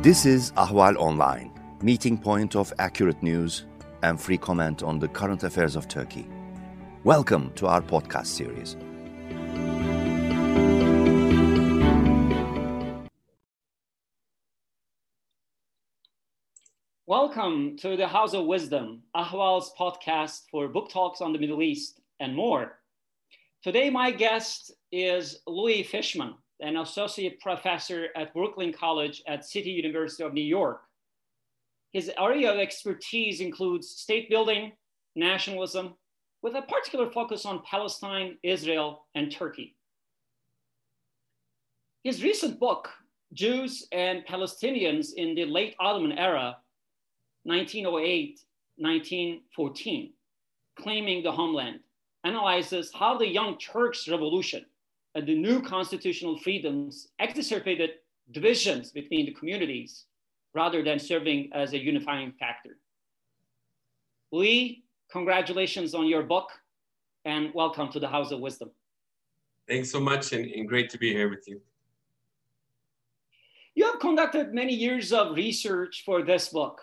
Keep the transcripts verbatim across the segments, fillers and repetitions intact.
This is Ahval Online, meeting point of accurate news and free comment on the current affairs of Turkey. Welcome to our podcast series. Welcome to the House of Wisdom, Ahval's podcast for book talks on the Middle East and more. Today, my guest is Louis Fishman, an associate professor at Brooklyn College at City University of New York. His area of expertise includes state building, nationalism, with a particular focus on Palestine, Israel, and Turkey. His recent book, Jews and Palestinians in the Late Ottoman Era, nineteen oh eight to nineteen fourteen, Claiming the Homeland, analyzes how the Young Turks Revolution and the new constitutional freedoms exacerbated divisions between the communities rather than serving as a unifying factor. Lee, congratulations on your book and welcome to the House of Wisdom. Thanks so much and, and great to be here with you. You have conducted many years of research for this book.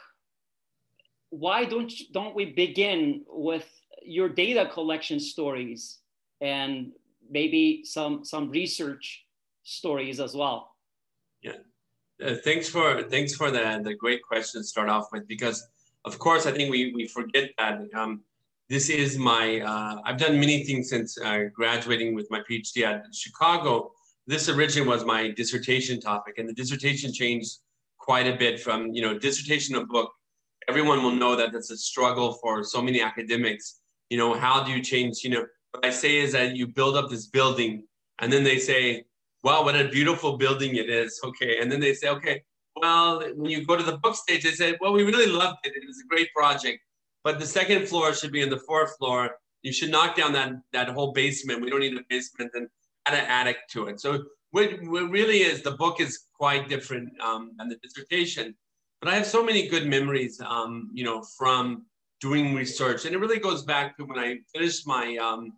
Why don't, don't we begin with your data collection stories and maybe some, some research stories as well? Yeah, uh, thanks for thanks for the, the great question to start off with, because of course I think we, we forget that um, this is my, uh, I've done many things since uh, graduating with my PhD at Chicago. This originally was my dissertation topic, and the dissertation changed quite a bit from, you know, dissertation of book. Everyone will know that that's a struggle for so many academics. You know, how do you change, you know, what I say is that you build up this building and then they say, wow, what a beautiful building it is. Okay. And then they say, okay, well, when you go to the book stage, they say, well, we really loved it. It was a great project, but the second floor should be in the fourth floor. You should knock down that, that whole basement. We don't need a basement, and add an attic to it. So what, what really is, the book is quite different um, than the dissertation. But I have so many good memories, um, you know, from doing research. And it really goes back to when I finished my um,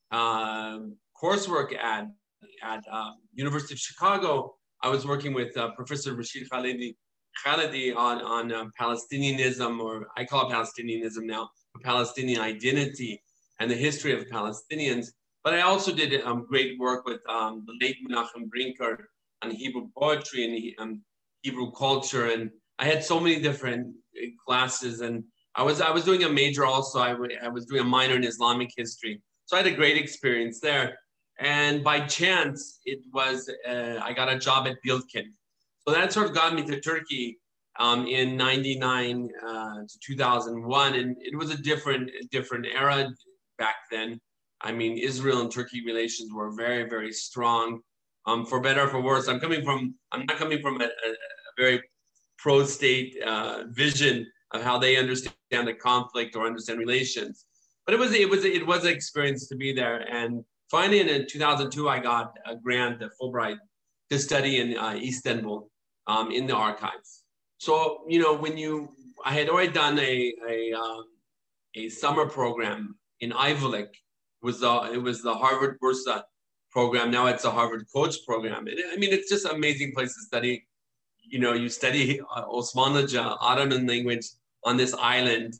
uh, coursework at, at uh, University of Chicago. I was working with uh, Professor Rashid Khalidi, Khalidi on, on uh, Palestinianism, or I call it Palestinianism now, Palestinian identity and the history of Palestinians. But I also did um, great work with um, the late Menachem Brinker on Hebrew poetry and um, Hebrew culture. And I had so many different classes, and I was I was doing a major also. I, w- I was doing a minor in Islamic history, so I had a great experience there. And by chance, it was uh, I got a job at Biltkin, so that sort of got me to Turkey um, in ninety-nine uh, to two thousand one, and it was a different different era back then. I mean, Israel and Turkey relations were very very strong, um, for better or for worse. I'm coming from I'm not coming from a, a, a very pro-state uh, vision of how they understand the conflict or understand relations, but it was it was it was an experience to be there. And finally, in two thousand two, I got a grant at Fulbright to study in uh, Istanbul um, in the archives. So you know, when you I had already done a a, um, a summer program in Ivy League. It was the it was the Harvard Bursa program. Now it's a Harvard Coach program. It, I mean, it's just an amazing place to study. You know, you study uh, Osmanlıca, Ottoman language on this island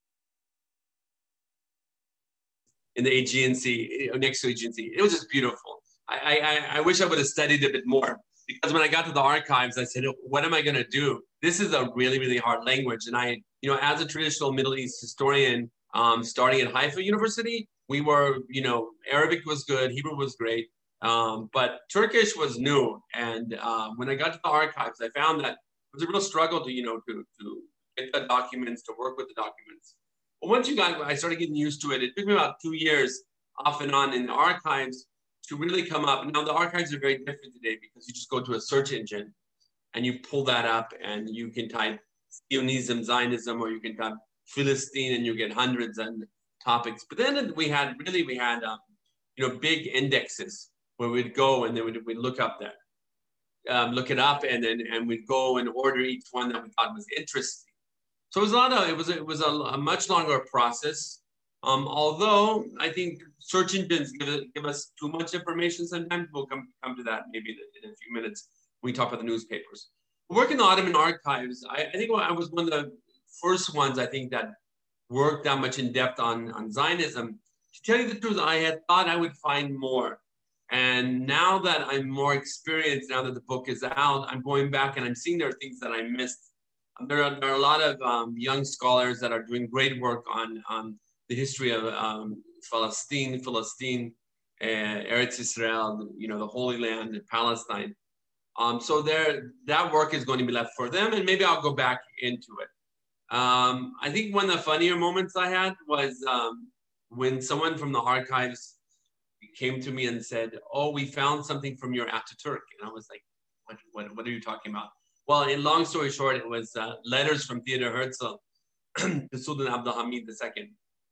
in the Aegean Sea, next to Aegean Sea. It was just beautiful. I, I, I wish I would have studied a bit more, because when I got to the archives, I said, what am I going to do? This is a really, really hard language. And I, you know, as a traditional Middle East historian, um, starting at Haifa University, we were, you know, Arabic was good, Hebrew was great. Um, but Turkish was new. And uh, when I got to the archives, I found that it was a real struggle to, you know, to, to get the documents, to work with the documents. But once you got, I started getting used to it. It took me about two years off and on in the archives to really come up. Now the archives are very different today, because you just go to a search engine and you pull that up and you can type Zionism, Zionism, or you can type Philistine and you get hundreds of topics. But then we had, really, we had, um, you know, big indexes where we'd go and then we'd, we'd look up that, um, look it up, and then and we'd go and order each one that we thought was interesting. So it was a lot of, it was, it was a, a much longer process. Um, although I think search engines give, give us too much information sometimes. We'll come, come to that maybe in a, in a few minutes when we talk about the newspapers. Work in the Ottoman archives, I, I think I was one of the first ones, I think, that worked that much in depth on, on Zionism. To tell you the truth, I had thought I would find more. And now that I'm more experienced, now that the book is out, I'm going back and I'm seeing there are things that I missed. There are, there are a lot of um, young scholars that are doing great work on, on the history of um, Palestine, Palestine, uh, Eretz Israel, you know, the Holy Land, Palestine. Um, so there, that work is going to be left for them, and maybe I'll go back into it. Um, I think one of the funnier moments I had was um, when someone from the archives came to me and said, "Oh, we found something from your Ataturk," and I was like, "What? What? What are you talking about?" Well, in long story short, it was uh, letters from Theodor Herzl to Sultan Abdulhamid the Second.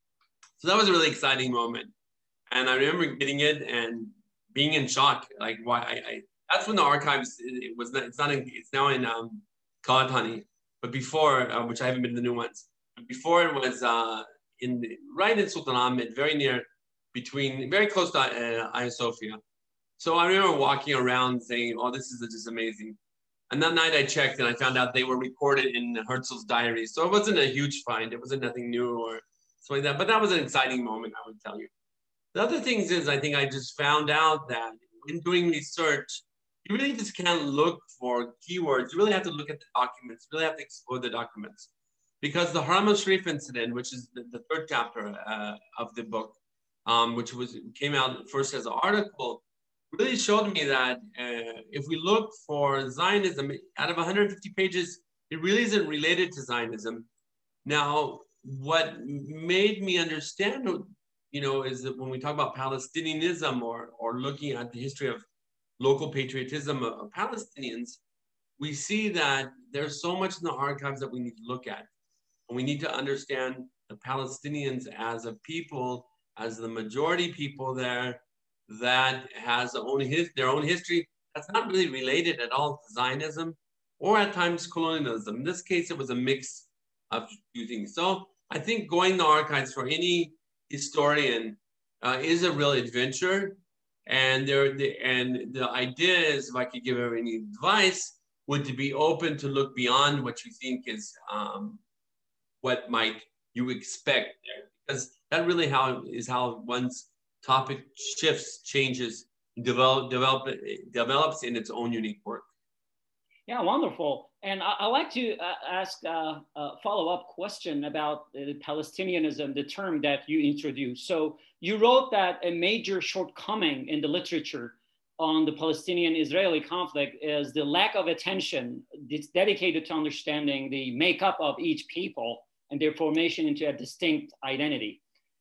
So that was a really exciting moment, and I remember getting it and being in shock. Like, why? I, I that's when the archives it, it was not. It's not. In, it's now in um, Kalahani, but before, uh, which I haven't been to the new ones. But before it was uh, in right in Sultanahmet, very near, between very close to uh, Hagia Sophia. So I remember walking around saying, "Oh, this is just amazing." And that night I checked and I found out they were recorded in Herzl's diary. So it wasn't a huge find. It wasn't nothing new or something like that. But that was an exciting moment, I would tell you. The other things is I think I just found out that in doing research, you really just can't look for keywords. You really have to look at the documents. You really have to explore the documents. Because the Haram al-Sharif incident, which is the, the third chapter uh, of the book, um, which was came out first as an article, really showed me that uh, if we look for Zionism, out of one hundred fifty pages, it really isn't related to Zionism. Now, what made me understand, you know, is that when we talk about Palestinianism or, or looking at the history of local patriotism of, of Palestinians, we see that there's so much in the archives that we need to look at. And we need to understand the Palestinians as a people, as the majority people there, that has their own, his, their own history that's not really related at all to Zionism or at times colonialism. In this case, it was a mix of two things. So I think going to archives for any historian uh, is a real adventure. And there, the, and the idea is, if I could give her any advice, would to be open to look beyond what you think is um, what might you expect there, because that really how is how one's topic shifts, changes, develop, develop, develops in its own unique work. Yeah, wonderful. And I, I'd like to uh, ask uh, a follow-up question about uh, Palestinianism, the term that you introduced. So you wrote that a major shortcoming in the literature on the Palestinian-Israeli conflict is the lack of attention dedicated to understanding the makeup of each people and their formation into a distinct identity.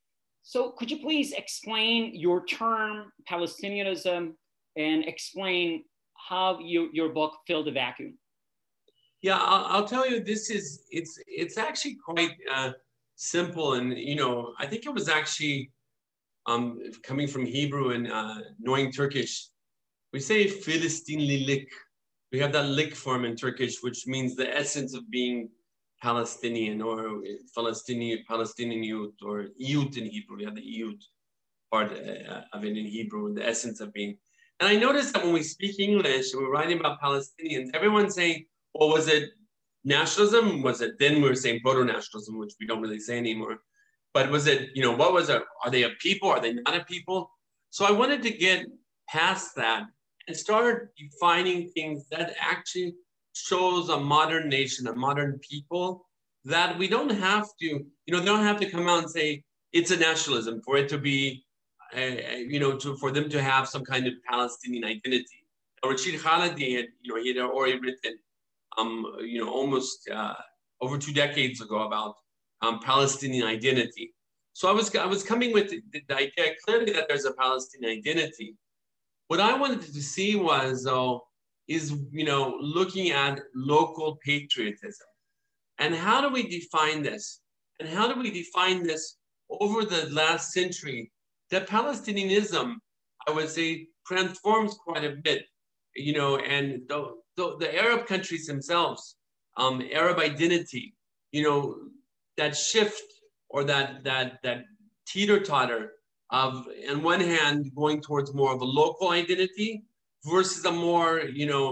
So could you please explain your term Palestinianism and explain how you, your book filled the vacuum? Yeah, I'll, I'll tell you, this is, it's it's actually quite uh, simple. And, you know, I think it was actually um, coming from Hebrew and uh, knowing Turkish. We say Filistinlilik. We have that lik form in Turkish, which means the essence of being Palestinian or Palestinian, Palestinian youth or youth in Hebrew. We have the youth part uh, of it in Hebrew, the essence of being. And I noticed that when we speak English, we're writing about Palestinians, everyone's saying, well, was it nationalism? Was it, then we were saying proto-nationalism, which we don't really say anymore. But was it, you know, what was it? Are they a people? Are they not a people? So I wanted to get past that and start defining things that actually shows a modern nation, a modern people, that we don't have to, you know, they don't have to come out and say it's a nationalism for it to be, uh, you know, to, for them to have some kind of Palestinian identity. Rashid Khalidi had, you know, he had already written, um, you know, almost uh, over two decades ago about um, Palestinian identity. So I was, I was coming with the, the idea clearly that there's a Palestinian identity. What I wanted to see was, though, is, you know, looking at local patriotism. And how do we define this? And how do we define this over the last century? That Palestinianism, I would say, transforms quite a bit, you know, and the, the, the Arab countries themselves, um, Arab identity, you know, that shift or that, that, that teeter-totter of, on one hand, going towards more of a local identity versus a more, you know,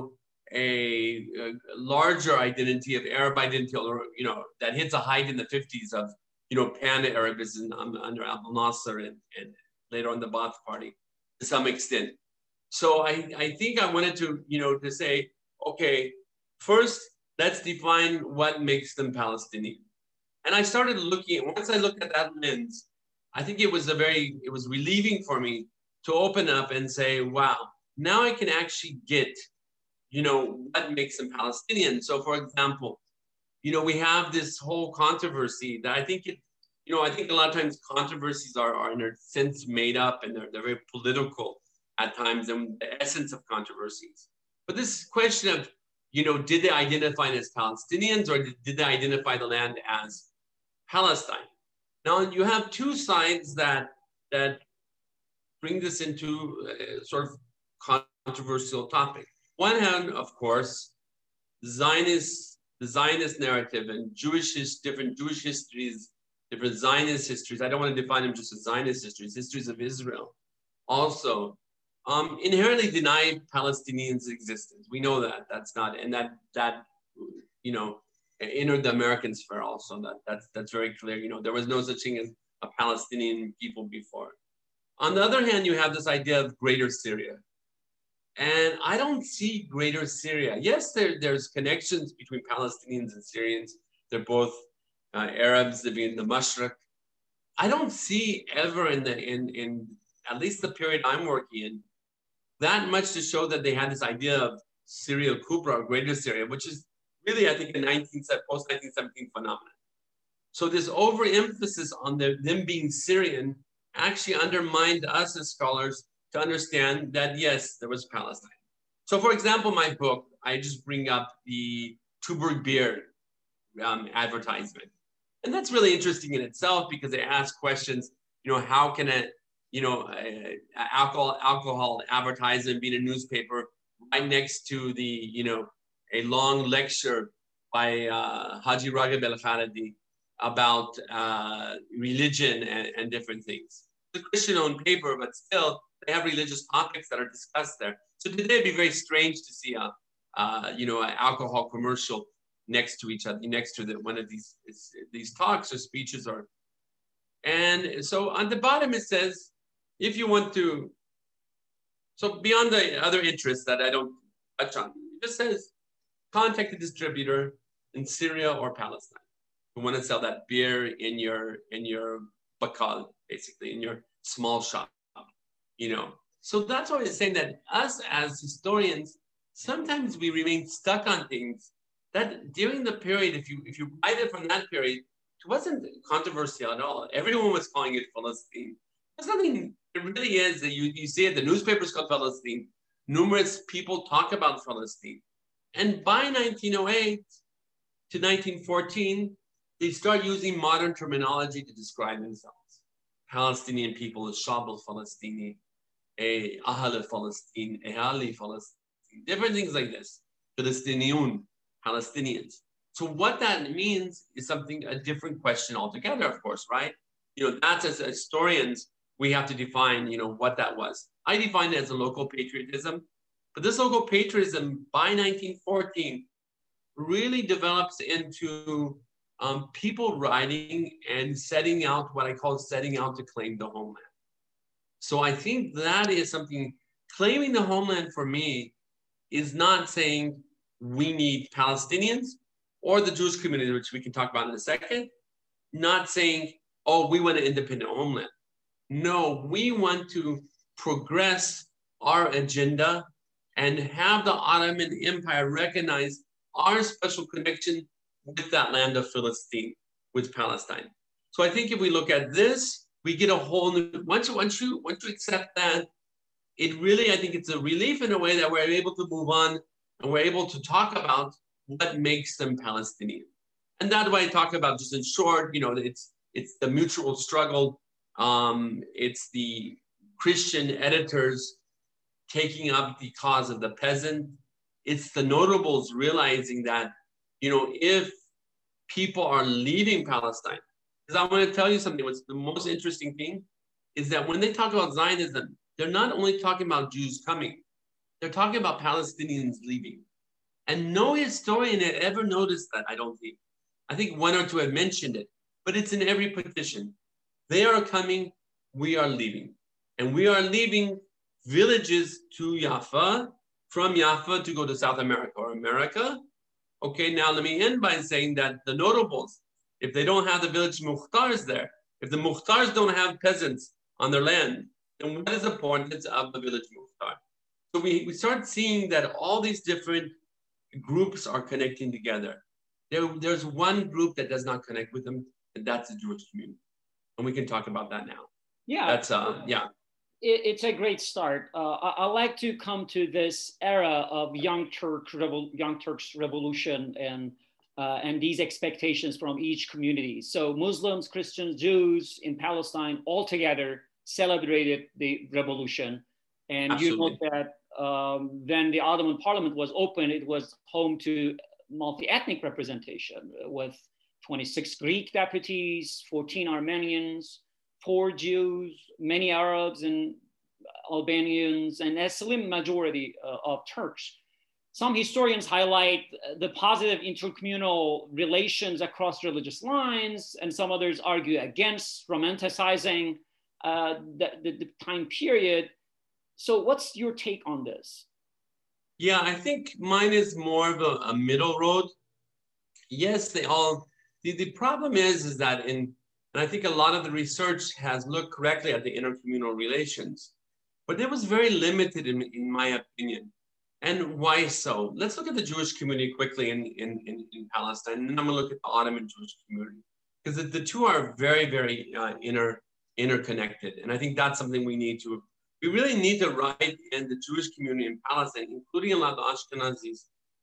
a, a larger identity of Arab identity, or, you know, that hits a height in the fifties of, you know, pan-Arabism under Abdel Nasser and, and later on the Ba'ath Party to some extent. So I, I think I wanted to, you know, to say, okay, first, let's define what makes them Palestinian. And I started looking, once I looked at that lens, I think it was a very, it was relieving for me to open up and say, wow, now I can actually get, you know, what makes them Palestinian. So for example, you know, we have this whole controversy that I think it, you know, I think a lot of times controversies are, are in a sense made up, and they're, they're very political at times, and the essence of controversies. But this question of, you know, did they identify as Palestinians, or did, did they identify the land as Palestine? Now you have two sides that, that bring this into a sort of controversial topic. One hand, of course, Zionist, the Zionist narrative and Jewish, different Jewish histories, different Zionist histories. I don't want to define them just as Zionist histories, histories of Israel also um, inherently deny Palestinians' existence. We know that, that's not, and that, that you know, entered the American sphere also. That, that's, that's very clear. You know, there was no such thing as a Palestinian people before. On the other hand, you have this idea of Greater Syria. And I don't see Greater Syria. Yes, there, there's connections between Palestinians and Syrians. They're both uh, Arabs living in the Mashriq. I don't see ever in the in in at least the period I'm working in that much to show that they had this idea of Syria Kubra or Greater Syria, which is really, I think, a post nineteen seventeen phenomenon. So this overemphasis on the, them being Syrian actually undermined us as scholars to understand that, yes, there was Palestine. So for example, my book, I just bring up the Tuborg beer um, advertisement. And that's really interesting in itself because they ask questions, you know, how can a, you know, a, a alcohol, alcohol advertisement be in a newspaper right next to the, you know, a long lecture by uh, Haji Raghib El-Khalidi about uh, religion and, and different things. It's a Christian-owned paper, but still, they have religious topics that are discussed there. So today it'd be very strange to see a, uh, you know, an alcohol commercial next to each other, next to the, one of these these talks or speeches. Or, and so on the bottom it says, if you want to, so beyond the other interests that I don't touch on, it just says, contact the distributor in Syria or Palestine who want to sell that beer in your in your bakal, basically in your small shop. You know, so that's why it's saying that us as historians, sometimes we remain stuck on things that during the period, if you if you write it from that period, it wasn't controversial at all. Everyone was calling it Palestine. There's nothing, it really is that you, you see it, the newspapers called Palestine. Numerous people talk about Palestine. And by nineteen oh eight to nineteen fourteen, they start using modern terminology to describe themselves. Palestinian people is Shab al-Falastini, a Ahl al-Falastin, Ahali Falastin, different things like this. Palestinian, Palestinians. So what that means is something, a different question altogether, of course, right? You know, that's as historians, we have to define, you know, what that was. I define it as a local patriotism, but this local patriotism by nineteen fourteen really develops into um, people writing and setting out what I call setting out to claim the homeland. So I think that is something, claiming the homeland for me is not saying we need Palestinians or the Jewish community, which we can talk about in a second, not saying, oh, we want an independent homeland. No, we want to progress our agenda and have the Ottoman Empire recognize our special connection with that land of Philistine, with Palestine. So I think if we look at this, we get a whole new, once, once, you, once you accept that, it really, I think it's a relief in a way that we're able to move on and we're able to talk about what makes them Palestinian. And that's why I talk about, just in short, you know, it's, it's the mutual struggle. Um, it's the Christian editors taking up the cause of the peasant. It's the notables realizing that, you know, if people are leaving Palestine, because I want to tell you something, what's the most interesting thing is that when they talk about Zionism, they're not only talking about Jews coming, they're talking about Palestinians leaving. And no historian had ever noticed that, I don't think. I think one or two had mentioned it, but it's in every petition. They are coming, we are leaving. And we are leaving villages to Jaffa, from Jaffa to go to South America or America. Okay, now let me end by saying that the notables, if they don't have the village Mukhtars there, if the Mukhtars don't have peasants on their land, then what is the importance of the village Mukhtar? So we, we start seeing that all these different groups are connecting together. There, there's one group that does not connect with them, and that's the Jewish community. And we can talk about that now. Yeah. That's, uh, yeah. It, it's a great start. Uh, I, I like to come to this era of Young Turk Revol- Young Turks Revolution and uh, and these expectations from each community. So Muslims, Christians, Jews in Palestine all together celebrated the revolution. And Absolutely. You know that um, when the Ottoman Parliament was opened, it was home to multi-ethnic representation with twenty-six Greek deputies, fourteen Armenians, four Jews, many Arabs and Albanians, and a slim majority uh, of Turks. Some historians highlight the positive intercommunal relations across religious lines, and some others argue against romanticizing uh, the, the, the time period. So what's your take on this? Yeah, I think mine is more of a, a middle road. Yes, they all, the, the problem is, is that in, and I think a lot of the research has looked correctly at the intercommunal relations, but it was very limited in, in my opinion. And why so? Let's look at the Jewish community quickly in, in, in, in Palestine, and then I'm gonna look at the Ottoman Jewish community, because the, the two are very, very uh, inter, interconnected. And I think that's something we need to, we really need to write in the Jewish community in Palestine, including a lot of the Ashkenazis,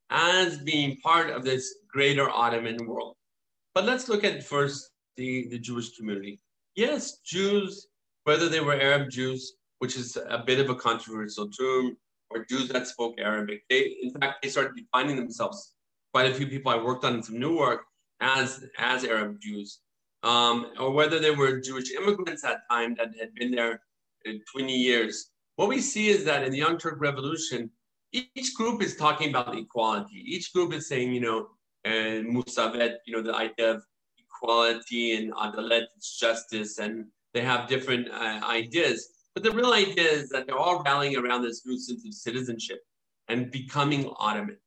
as being part of this greater Ottoman world. But let's look at first the, the Jewish community. Yes, Jews, whether they were Arab Jews, which is a bit of a controversial term, or Jews that spoke Arabic. They, in fact, they started defining themselves. Quite a few people I worked on some new work as, as Arab Jews, um, or whether they were Jewish immigrants at that time that had been there in twenty years. What we see is that in the Young Turk Revolution, each group is talking about equality. Each group is saying, you know, and Musavet, you know, the idea of equality and adalet, justice, and they have different uh, ideas. But the real idea is that they're all rallying around this new sense of citizenship and becoming Ottomans,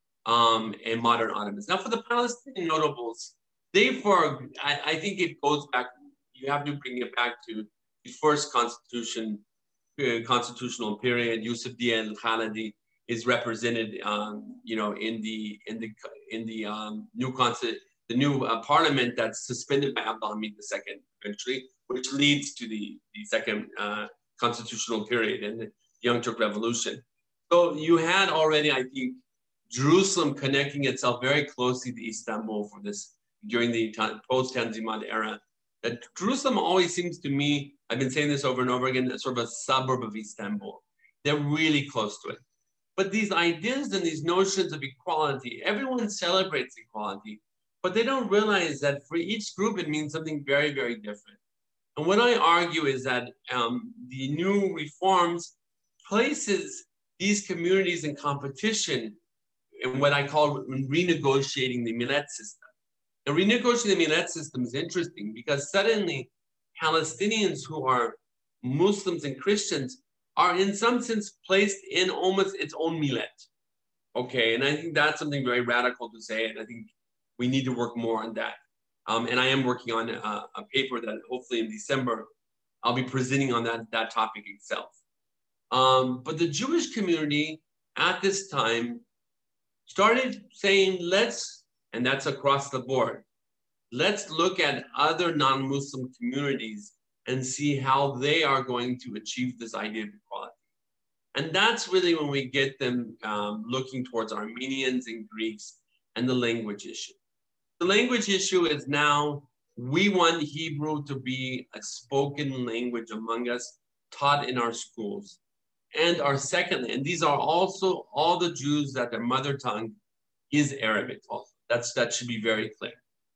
um, and modern Ottomans. Now, for the Palestinian notables, they, for, I, I think it goes back, you have to bring it back to the first constitution, uh, constitutional period. Yusuf Dia al-Khalidi is represented, um, you know, in the in the in the um, new consti- the new uh, parliament that's suspended by Abdul Hamid the Second eventually, which leads to the the second uh, constitutional period and the Young Turk Revolution. So you had already, I think, Jerusalem connecting itself very closely to Istanbul for this during the post-Tanzimat era. That Jerusalem always seems to me, I've been saying this over and over again, as sort of a suburb of Istanbul. They're really close to it. But these ideas and these notions of equality, everyone celebrates equality, but they don't realize that for each group, it means something very, very different. And what I argue is that um, the new reforms places these communities in competition in what I call renegotiating the millet system. And renegotiating the millet system is interesting because suddenly Palestinians who are Muslims and Christians are in some sense placed in almost its own millet. Okay, and I think that's something very radical to say, and I think we need to work more on that. Um, and I am working on a, a paper that hopefully in December, I'll be presenting on that, that topic itself. Um, but the Jewish community at this time started saying, let's, and that's across the board, let's look at other non-Muslim communities and see how they are going to achieve this idea of equality. And that's really when we get them um, looking towards Armenians and Greeks and the language issue. The language issue is now, we want Hebrew to be a spoken language among us, taught in our schools. And our second, and these are also all the Jews that their mother tongue is Arabic also. That's, that should be very clear.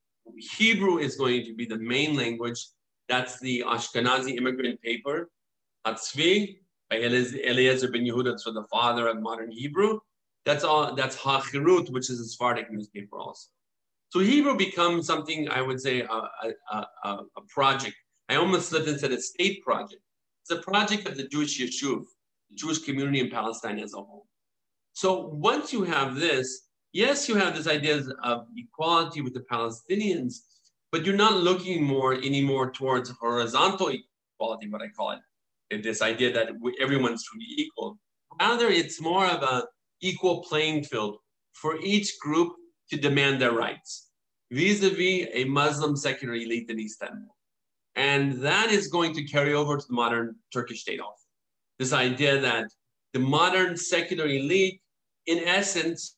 Hebrew is going to be the main language. That's the Ashkenazi immigrant paper, Hatzvi, by Eliezer ben Yehuda, so the father of modern Hebrew. That's all. That's Hachirut, which is a Sephardic newspaper also. So Hebrew becomes something, I would say, a, a, a, a project. I almost slipped and said a state project. It's a project of the Jewish Yeshuv, the Jewish community in Palestine as a whole. So once you have this, yes, you have this idea of equality with the Palestinians, but you're not looking more anymore towards horizontal equality, what I call it, and this idea that everyone's truly equal. Rather, it's more of a equal playing field for each group to demand their rights, vis-a-vis a Muslim secular elite in Istanbul. And that is going to carry over to the modern Turkish state also. This idea that the modern secular elite, in essence,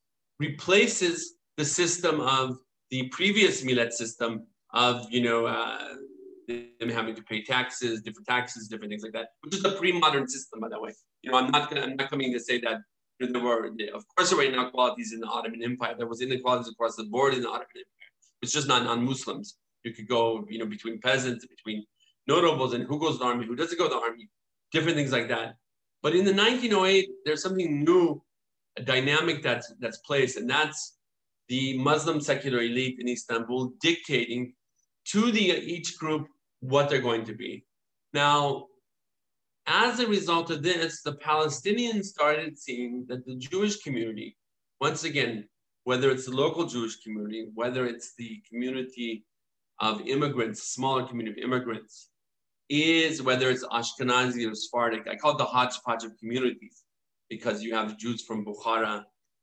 replaces the system of the previous millet system of, you know, uh, them having to pay taxes, different taxes, different things like that, which is a pre-modern system, by the way. You know, I'm not gonna, I'm not coming to say that you know, there were, of course, there were inequalities in the Ottoman Empire. There was inequalities across the board in the Ottoman Empire. It's just not non-Muslims. You could go, you know, between peasants, between notables, and who goes to the army, who doesn't go to the army, different things like that. But in the nineteen oh eight, there's something new, a dynamic that's that's placed, and that's the Muslim secular elite in Istanbul dictating to the each group what they're going to be. Now, as a result of this, the Palestinians started seeing that the Jewish community, once again, whether it's the local Jewish community, whether it's the community of immigrants, smaller community of immigrants, is whether it's Ashkenazi or Sephardic. I call it the hodgepodge of communities because you have Jews from Bukhara,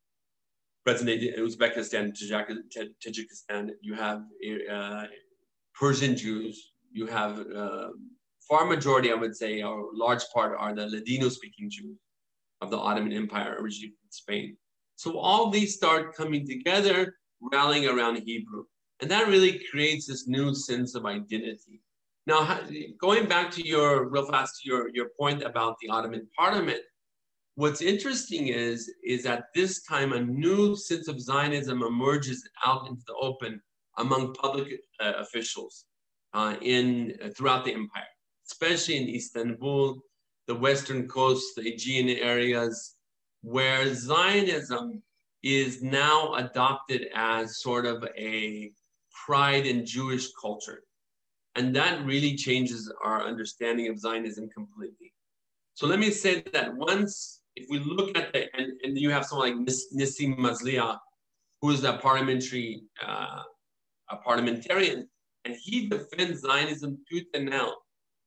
present Uzbekistan, Tajikistan, you have uh, Persian Jews, you have uh, far majority, I would say, or large part are the Ladino-speaking Jews of the Ottoman Empire, originally from Spain. So all these start coming together, rallying around Hebrew. And that really creates this new sense of identity. Now, going back to your, real fast, to your, your point about the Ottoman Parliament, what's interesting is, is at this time, a new sense of Zionism emerges out into the open among public uh, officials uh, in, uh, throughout the empire, especially in Istanbul, the Western coast, the Aegean areas, where Zionism is now adopted as sort of a pride in Jewish culture. And that really changes our understanding of Zionism completely. So let me say that once, if we look at the, and, and you have someone like Nissim Mazlia, who is a parliamentary, uh, a parliamentarian, and he defends Zionism tooth and nail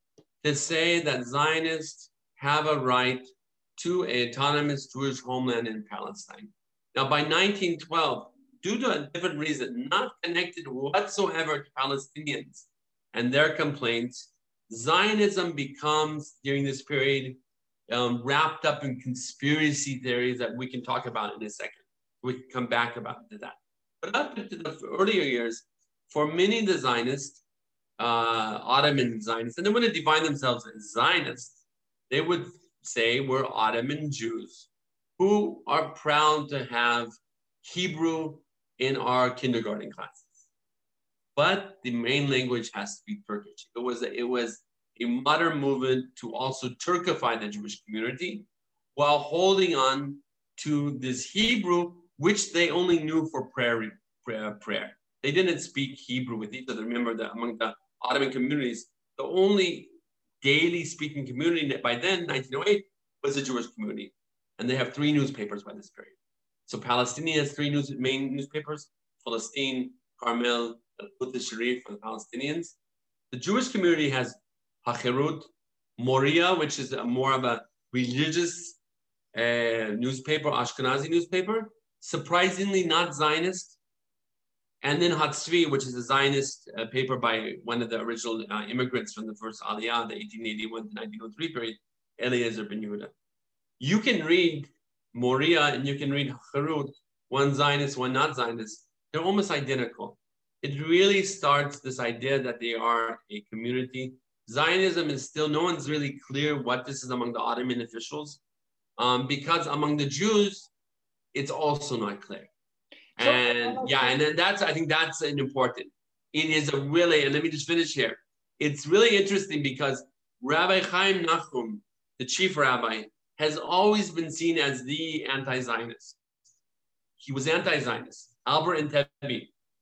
to say that Zionists have a right to an autonomous Jewish homeland in Palestine. Now, by nineteen twelve, due to a different reason, not connected whatsoever to Palestinians and their complaints, Zionism becomes, during this period, um, wrapped up in conspiracy theories that we can talk about in a second. We can come back about to that. But up into the earlier years, for many of the Zionists, uh, Ottoman Zionists, and they want to define themselves as Zionists, they would say we're Ottoman Jews who are proud to have Hebrew in our kindergarten classes. But the main language has to be Turkish. It was a, it was a modern movement to also Turkify the Jewish community while holding on to this Hebrew, which they only knew for prayer. prayer, prayer. They didn't speak Hebrew with each other. Remember that among the Ottoman communities, the only daily speaking community by then, nineteen oh eight, was the Jewish community. And they have three newspapers by this period. So Palestinian has three news, main newspapers, Palestine, Carmel, Al-Quds Sharif for the Palestinians. The Jewish community has Hachirut, Moria, which is a more of a religious uh, newspaper, Ashkenazi newspaper, surprisingly not Zionist. And then Hatzvi, which is a Zionist uh, paper by one of the original uh, immigrants from the first Aliyah, the eighteen eighty-one to nineteen oh three period, Eliezer ben Yehuda. You can read Moria and you can read Hachirut, one Zionist, one not Zionist. They're almost identical. It really starts this idea that they are a community. Zionism is still, no one's really clear what this is among the Ottoman officials, um, because among the Jews, it's also not clear. And so, yeah, and then that's, I think that's an important. It is a really, and let me just finish here. It's really interesting because Rabbi Chaim Nachum, the chief rabbi, has always been seen as the anti-Zionist. He was anti-Zionist. Albert Entebbe,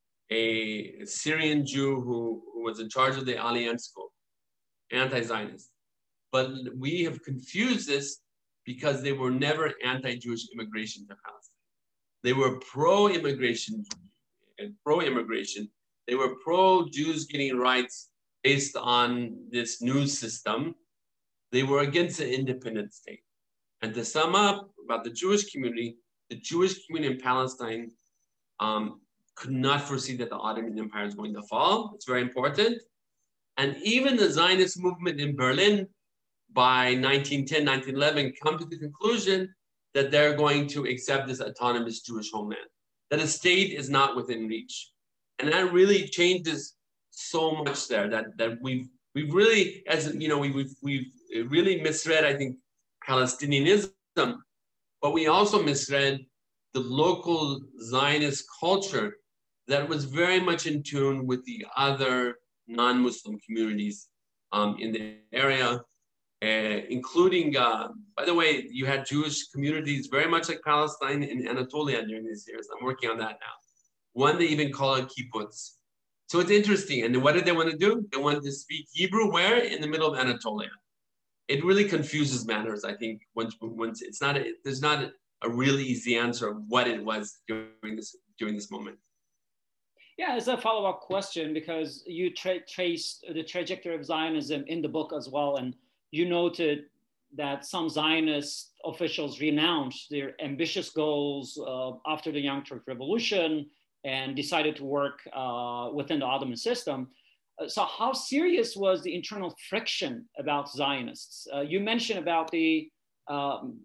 a Syrian Jew who, who was in charge of the Alliance School, anti-Zionist. But we have confused this because they were never anti-Jewish immigration to Palestine. They were pro-immigration, pro-immigration. They were pro-Jews getting rights based on this new system. They were against the independent state. And to sum up about the Jewish community, the Jewish community in Palestine um, could not foresee that the Ottoman Empire is going to fall. It's very important. And even the Zionist movement in Berlin by nineteen ten, nineteen eleven come to the conclusion that they're going to accept this autonomous Jewish homeland, that a state is not within reach. And that really changes so much there that, that we've we've really, as you know, we, we've, we've really misread, I think, Palestinianism, but we also misread the local Zionist culture that was very much in tune with the other non-Muslim communities um, in the area, uh, including, uh, by the way, you had Jewish communities very much like Palestine in Anatolia during these years. I'm working on that now. One, they even call it kibbutz. So it's interesting. And what did they want to do? They wanted to speak Hebrew where? In the middle of Anatolia. It really confuses matters, I think, once, once it's not, a, there's not a, a really easy answer of what it was during this, during this moment. Yeah, as a follow-up question, because you tra traced the trajectory of Zionism in the book as well, and you noted that some Zionist officials renounced their ambitious goals uh, after the Young Turk Revolution and decided to work uh, within the Ottoman system. Uh, so how serious was the internal friction about Zionists? Uh, you mentioned about the um,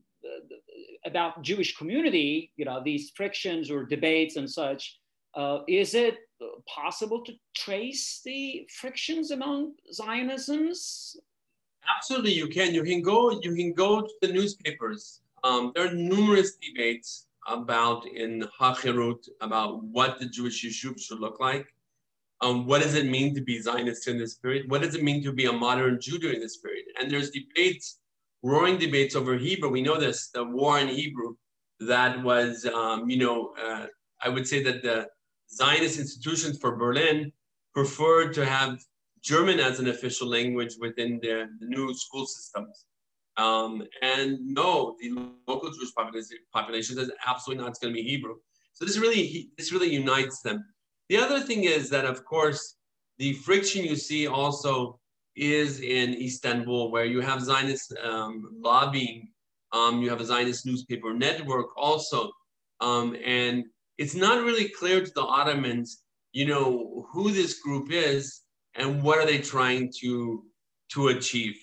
about Jewish community, you know, these frictions or debates and such. Uh, is it possible to trace the frictions among Zionisms? Absolutely, you can. You can go. You can go to the newspapers. Um, there are numerous debates about in Hachirut about what the Jewish Yishuv should look like. Um, what does it mean to be Zionist in this period? What does it mean to be a modern Jew during this period? And there's debates, roaring debates over Hebrew. We know this, the war in Hebrew, that was, um, you know, uh, I would say that the Zionist institutions for Berlin preferred to have German as an official language within the, the new school systems. Um, and no, the local Jewish population, population says absolutely not, it's going to be Hebrew. So this really, this really unites them. The other thing is that, of course, the friction you see also is in Istanbul, where you have Zionist um, lobbying, um, you have a Zionist newspaper network also, um, and it's not really clear to the Ottomans, you know, who this group is and what are they trying to, to achieve.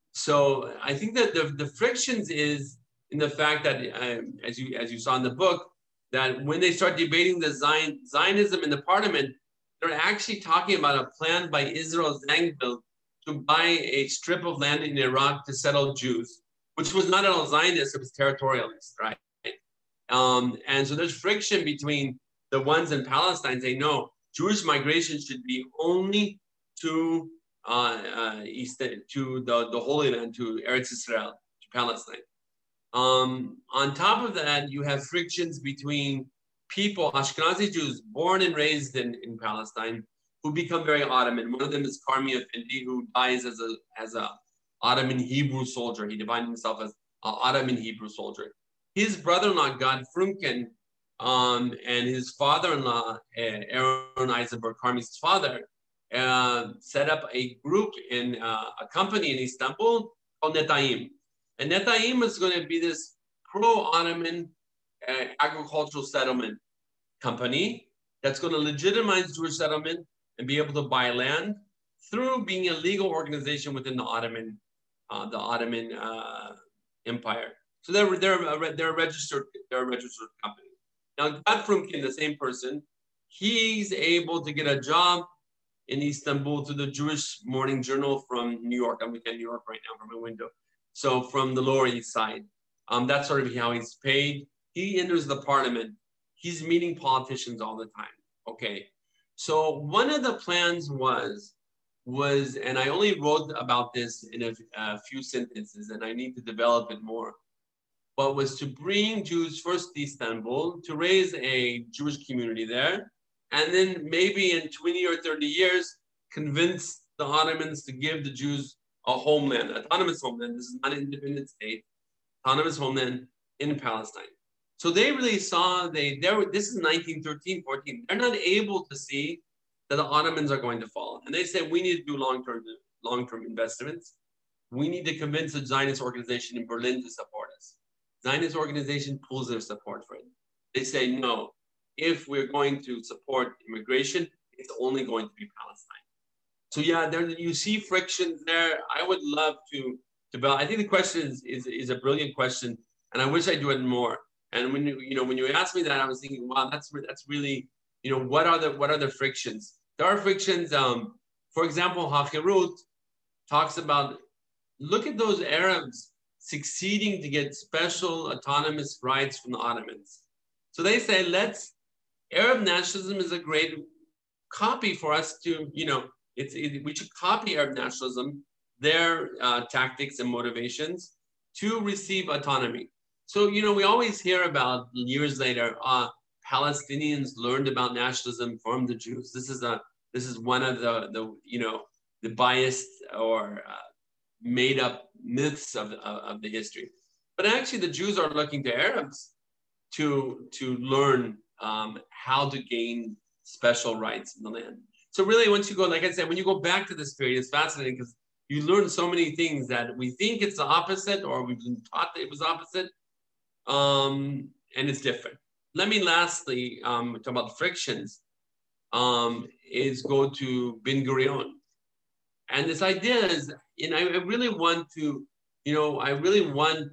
So I think that the, the frictions is in the fact that, uh, as you as you saw in the book, that when they start debating the Zion, Zionism in the parliament, they're actually talking about a plan by Israel Zangwill to buy a strip of land in Iraq to settle Jews, which was not at all Zionist, it was territorialist, right? Um, and so there's friction between the ones in Palestine saying, no, Jewish migration should be only to uh, uh, East, to the, the Holy Land, to Eretz Israel, to Palestine. Um, on top of that, you have frictions between people, Ashkenazi Jews born and raised in, in Palestine, who become very Ottoman. One of them is Karmi Effendi, who dies as a as a Ottoman Hebrew soldier. He defined himself as an Ottoman Hebrew soldier. His brother-in-law, Gad Frumkin, um, and his father-in-law, uh, Aaron Eisenberg, Karmi's father, uh, set up a group in uh, a company in Istanbul called Netayim. And Netayim is going to be this pro-Ottoman uh, agricultural settlement company that's going to legitimize Jewish settlement and be able to buy land through being a legal organization within the Ottoman, uh, the Ottoman uh, Empire. So they're they're a, they're a registered they're a registered company. Now, Gad Frumkin, the same person, he's able to get a job in Istanbul to the Jewish Morning Journal from New York. I'm looking at New York right now from my window. So from the Lower East Side, um, that's sort of how he's paid. He enters the parliament. He's meeting politicians all the time. Okay, so one of the plans was was, and I only wrote about this in a, a few sentences, and I need to develop it more. but was to bring Jews first to Istanbul, to raise a Jewish community there, and then maybe in twenty or thirty years, convince the Ottomans to give the Jews a homeland, autonomous homeland. This is not an independent state, autonomous homeland in Palestine. So they really saw, they, they were, this is nineteen thirteen, fourteen. They're not able to see that the Ottomans are going to fall. And they said, we need to do long-term, long-term investments. We need to convince the Zionist organization in Berlin to support us. Zionist organization pulls their support for it. They say, no, if we're going to support immigration, it's only going to be Palestine. So yeah, there you see frictions there. I would love to develop. I think the question is, is, is a brilliant question, and I wish I do it more. And when you, you know, when you asked me that, I was thinking, wow, that's that's really, you know, what are the what are the frictions? There are frictions. Um, for example, Hafirut talks about, look at those Arabs succeeding to get special autonomous rights from the Ottomans. So they say, let's, Arab nationalism is a great copy for us to, you know, it's it, we should copy Arab nationalism, their uh, tactics and motivations to receive autonomy. So, you know, we always hear about years later, uh, Palestinians learned about nationalism from the Jews. This is a this is one of the the you know the biased or uh, made up myths of, of of the history. But actually, the Jews are looking to Arabs to to learn um, how to gain special rights in the land. So really, once you go, like I said, when you go back to this period, it's fascinating because you learn so many things that we think it's the opposite, or we've been taught that it was opposite, um, and it's different. Let me lastly um, talk about the frictions, um, is go to Ben Gurion. And this idea is, and I really want to, you know, I really want,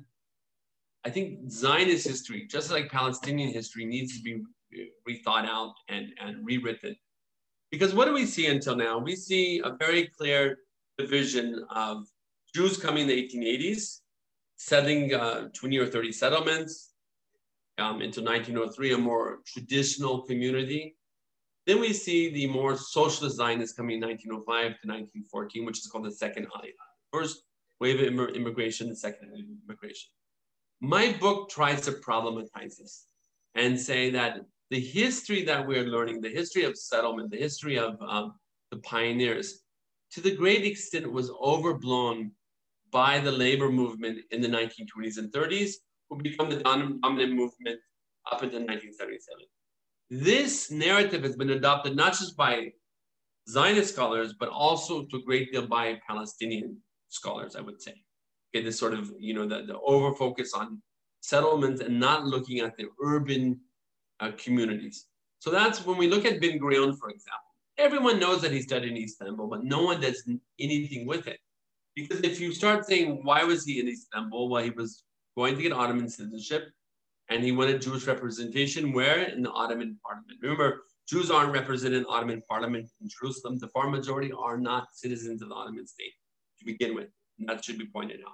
I think Zionist history, just like Palestinian history, needs to be rethought out and, and rewritten. Because what do we see until now? We see a very clear division of Jews coming in the eighteen eighties, settling uh, twenty or thirty settlements, Um, into nineteen oh three, a more traditional community. Then we see the more socialist Zionists coming in nineteen oh five to nineteen fourteen, which is called the second Aliyah. First wave of imm- immigration, the second wave of immigration. My book tries to problematize this and say that the history that we're learning, the history of settlement, the history of um, the pioneers, to the great extent was overblown by the labor movement in the nineteen twenties and thirties, who become the dominant movement up until nineteen seventy-seven. This narrative has been adopted not just by Zionist scholars, but also to a great deal by Palestinian scholars, I would say. Okay, this sort of, you know, the, the over focus on settlements and not looking at the urban uh, communities. So that's when we look at Ben Gurion, for example. Everyone knows that he studied in Istanbul, but no one does anything with it. Because if you start saying, why was he in Istanbul? Well, he was going to get Ottoman citizenship, and he wanted Jewish representation where? In the Ottoman parliament. Remember, Jews aren't represented in Ottoman parliament in Jerusalem. The far majority are not citizens of the Ottoman state to begin with. And that should be pointed out.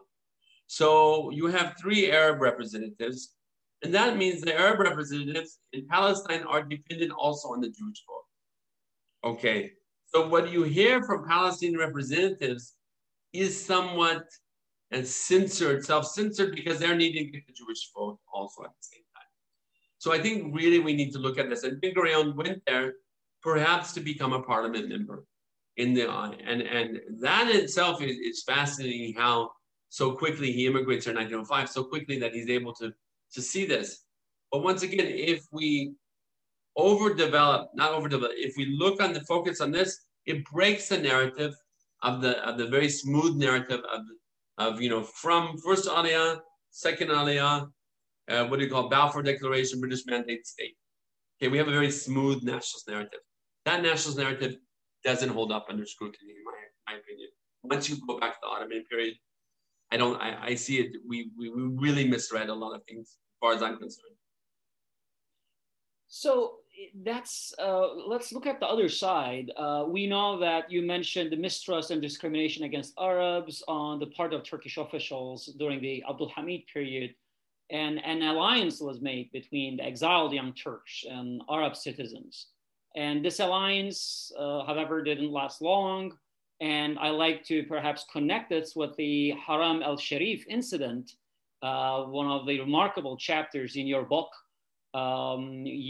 So you have three Arab representatives, and that means the Arab representatives in Palestine are dependent also on the Jewish vote. Okay, so what you hear from Palestinian representatives is somewhat and censored, self-censored, because they're needing to get the Jewish vote also at the same time. So I think really we need to look at this. And Ben Gurion went there perhaps to become a parliament member in the, uh, and, and that in itself is, is fascinating how so quickly he immigrates in nineteen oh five, so quickly that he's able to, to see this. But once again, if we overdevelop, not overdevelop, if we look on the focus on this, it breaks the narrative of the, of the very smooth narrative of the, of, you know, from first Aliyah, second Aliyah, uh, what do you call Balfour Declaration, British Mandate State. Okay, we have a very smooth nationalist narrative. That nationalist narrative doesn't hold up under scrutiny, in my, my opinion. Once you go back to the Ottoman period, I don't, I, I see it, we, we, we really misread a lot of things as far as I'm concerned. So that's, uh, let's look at the other side. Uh, we know that you mentioned the mistrust and discrimination against Arabs on the part of Turkish officials during the Abdul Hamid period, and an alliance was made between the exiled Young Turks and Arab citizens. And this alliance, uh, however, didn't last long. And I like to perhaps connect this with the Haram al-Sharif incident, uh, one of the remarkable chapters in your book. Um,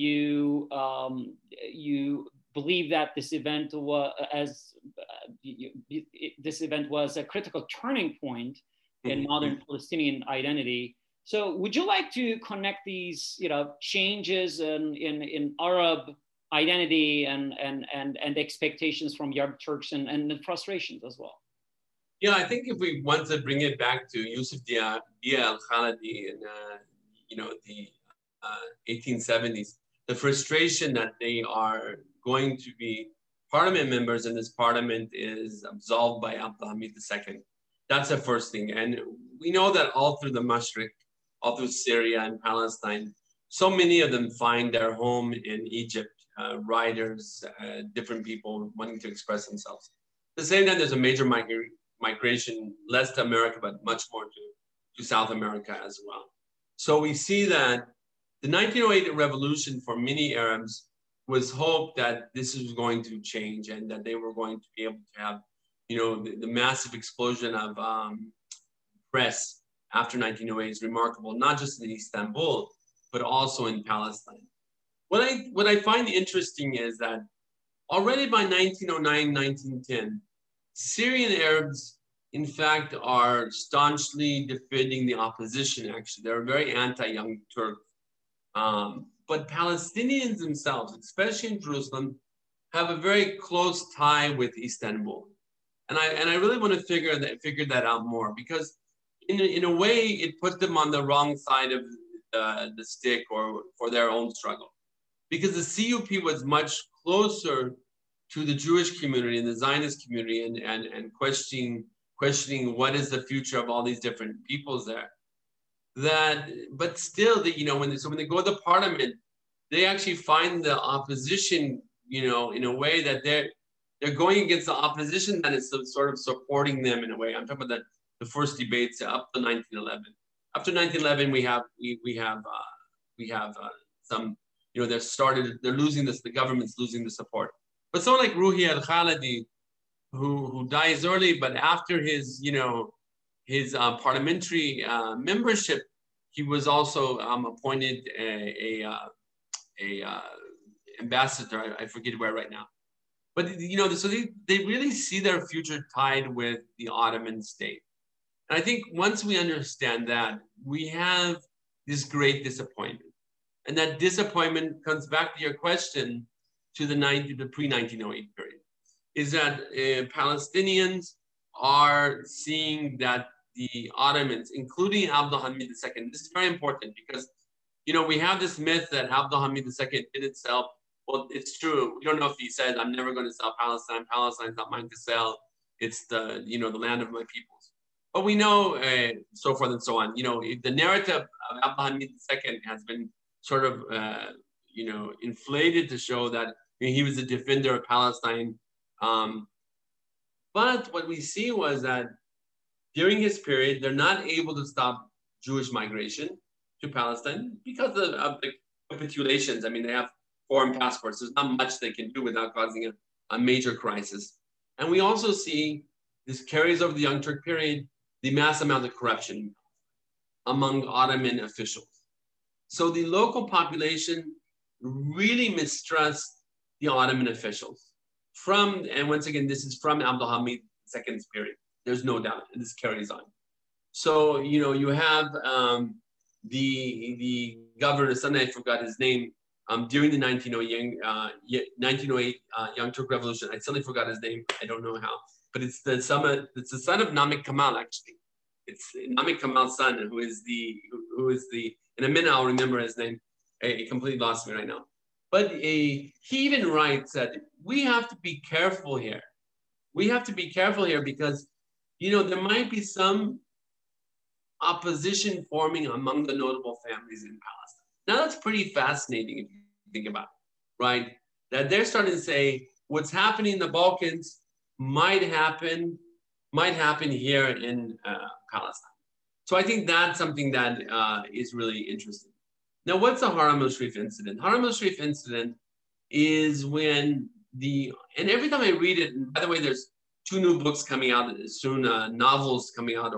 you um, you believe that this event was as uh, you, it, this event was a critical turning point in modern Palestinian identity. So, would you like to connect these, you know, changes in in, in Arab identity and and and and expectations from Arab Turks and, and the frustrations as well? Yeah, I think if we want to bring it back to Yusuf Dia, Dia al-Khalidi and uh, you know the uh, eighteen seventies, the frustration that they are going to be parliament members and this parliament is absolved by Abdul Hamid the Second. That's the first thing. And we know that all through the Mashriq, all through Syria and Palestine, so many of them find their home in Egypt, uh, writers, uh, different people wanting to express themselves. At the same time, there's a major migration migration, less to America, but much more to, to South America as well. So we see that the nineteen oh eight revolution for many Arabs was hope that this was going to change and that they were going to be able to have, you know, the, the massive explosion of um, press after nineteen oh eight is remarkable, not just in Istanbul, but also in Palestine. What I, what I find interesting is that already by nineteen oh nine, nineteen ten, Syrian Arabs, in fact, are staunchly defending the opposition, actually. They're very anti-Young Turk. Um, but Palestinians themselves, especially in Jerusalem, have a very close tie with Istanbul. And I, and I really want to figure that, figure that out more because in a, in a way, it put them on the wrong side of uh, the stick or for their own struggle. Because the C U P was much closer to the Jewish community and the Zionist community and, and, and questioning, questioning what is the future of all these different peoples there. That, but still, the, you know, when they, so when they go to parliament, they actually find the opposition, you know, in a way that they're, they're going against the opposition that is sort of supporting them in a way. I'm talking about the, the first debates up to nineteen eleven. After nineteen eleven, we have, we, we have, uh, we have uh, some, you know, they're started, they're losing this, the government's losing the support. But someone like Ruhi al-Khalidi, who, who dies early, but after his, you know, his uh, parliamentary uh, membership, he was also um, appointed a, a, uh, a uh, ambassador, I, I forget where right now. But, you know, so they, they really see their future tied with the Ottoman state. And I think once we understand that, we have this great disappointment. And that disappointment comes back to your question, to the, the pre-nineteen oh eight period, is that uh, Palestinians are seeing that the Ottomans, including Abdul Hamid the Second, this is very important because, you know, we have this myth that Abdul Hamid the Second did itself. Well, it's true. We don't know if he said, I'm never going to sell Palestine. Palestine's not mine to sell. It's the, you know, the land of my peoples. But we know, uh, so forth and so on. You know, the narrative of Abdul Hamid the Second has been sort of, uh, you know, inflated to show that he was a defender of Palestine. Um, but what we see was that during his period, they're not able to stop Jewish migration to Palestine because of, of the capitulations. I mean, they have foreign passports. There's not much they can do without causing a, a major crisis. And we also see this carries over the Young Turk period, the mass amount of corruption among Ottoman officials. So the local population really mistrust the Ottoman officials from, and once again, this is from Abdul Hamid the Second's period. There's no doubt, and this carries on. So, you know, you have um, the, the governor, suddenly I forgot his name, um, during the nineteen oh eight uh, Young Turk Revolution. I suddenly forgot his name. I don't know how, but it's the son of, it's the son of Namik Kemal, actually. It's Namik Kemal's son, who is the, who, who is the, in a minute I'll remember his name. I, I completely lost me right now. But a, he even writes that we have to be careful here. We have to be careful here because, you know, there might be some opposition forming among the notable families in Palestine. Now that's pretty fascinating if you think about it, right? That they're starting to say what's happening in the Balkans might happen, might happen here in uh, Palestine. So I think that's something that uh, is really interesting. Now, what's the Haram al-Sharif incident? Haram al-Sharif incident is when the, and every time I read it, and by the way, there's two new books coming out soon, uh, novels coming out, or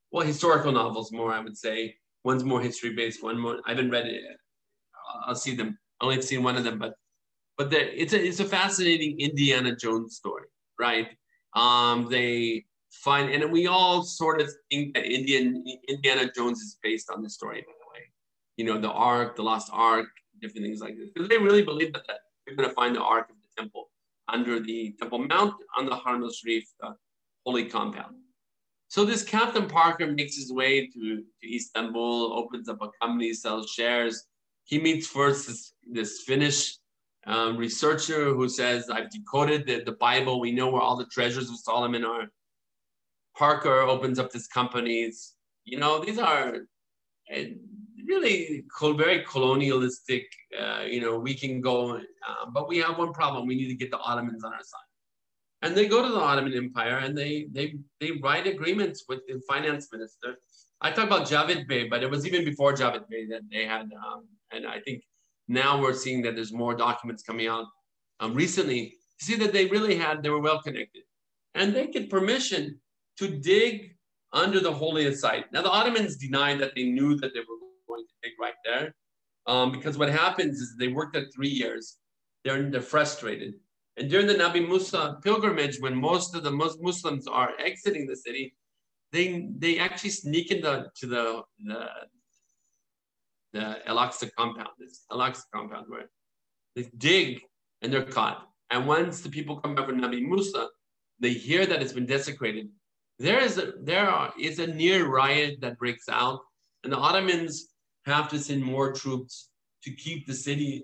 well, historical novels more, I would say. One's more history-based, one more, I haven't read it. I'll see them. I only have seen one of them, but but it's a it's a fascinating Indiana Jones story, right? Um, they find, and we all sort of think that Indian Indiana Jones is based on this story, by the way. You know, the Ark, the Lost Ark, different things like this, because they really believe that, that they're going to find the Ark of the Temple under the Temple Mount on the Haram al-Sharif, the holy compound. So this Captain Parker makes his way to, to Istanbul, opens up a company, sells shares. He meets first this, this Finnish um, researcher who says, I've decoded the, the Bible. We know where all the treasures of Solomon are. Parker opens up this company. It's, you know, these are uh, really very colonialistic, uh, you know, we can go, uh, but we have one problem. We need to get the Ottomans on our side. And they go to the Ottoman Empire and they they they write agreements with the finance minister. I talk about Javed Bey, but it was even before Javed Bey that they had, um, and I think now we're seeing that there's more documents coming out um, recently to see that they really had, they were well connected. And they get permission to dig under the holiest site. Now the Ottomans denied that they knew that they were going to dig right there, um, because what happens is they worked there three years. They're, they're frustrated. And during the Nabi Musa pilgrimage, when most of the Muslims are exiting the city, they they actually sneak into to the the, the Al-Aqsa compound, this Al-Aqsa compound where they dig and they're caught. And once the people come back from Nabi Musa, they hear that it's been desecrated. There is a, there are, is a near riot that breaks out, and the Ottomans have to send more troops to keep the city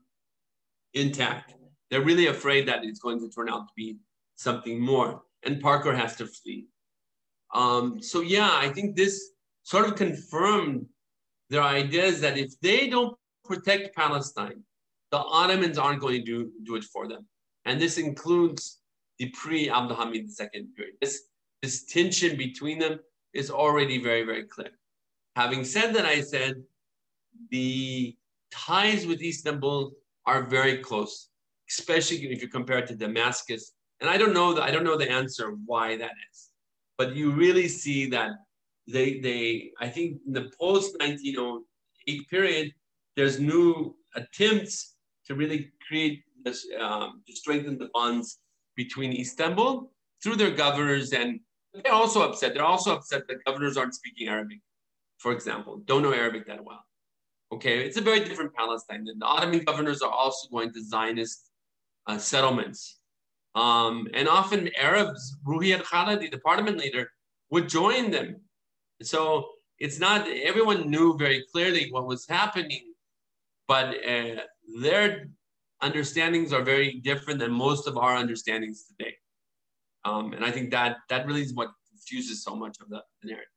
intact. They're really afraid that it's going to turn out to be something more. And Parker has to flee. Um, so yeah, I think this sort of confirmed their ideas that if they don't protect Palestine, the Ottomans aren't going to do, do it for them. And this includes the pre-Abd al-Hamid the Second period. This, this tension between them is already very, very clear. Having said that, I said the ties with Istanbul are very close, especially if you compare it to Damascus. And I don't know the, I don't know the answer why that is, but you really see that they, they I think in the post nineteen oh eight period, there's new attempts to really create this, um, to strengthen the bonds between Istanbul through their governors. And they're also upset. They're also upset that governors aren't speaking Arabic, for example, don't know Arabic that well. Okay, it's a very different Palestine. The Ottoman governors are also going to Zionist Uh, settlements. Um, and often Arabs, Ruhi al-Khalidi, the parliament leader, would join them. So it's not, everyone knew very clearly what was happening, but uh, their understandings are very different than most of our understandings today. Um, and I think that that really is what confuses so much of the, the narrative.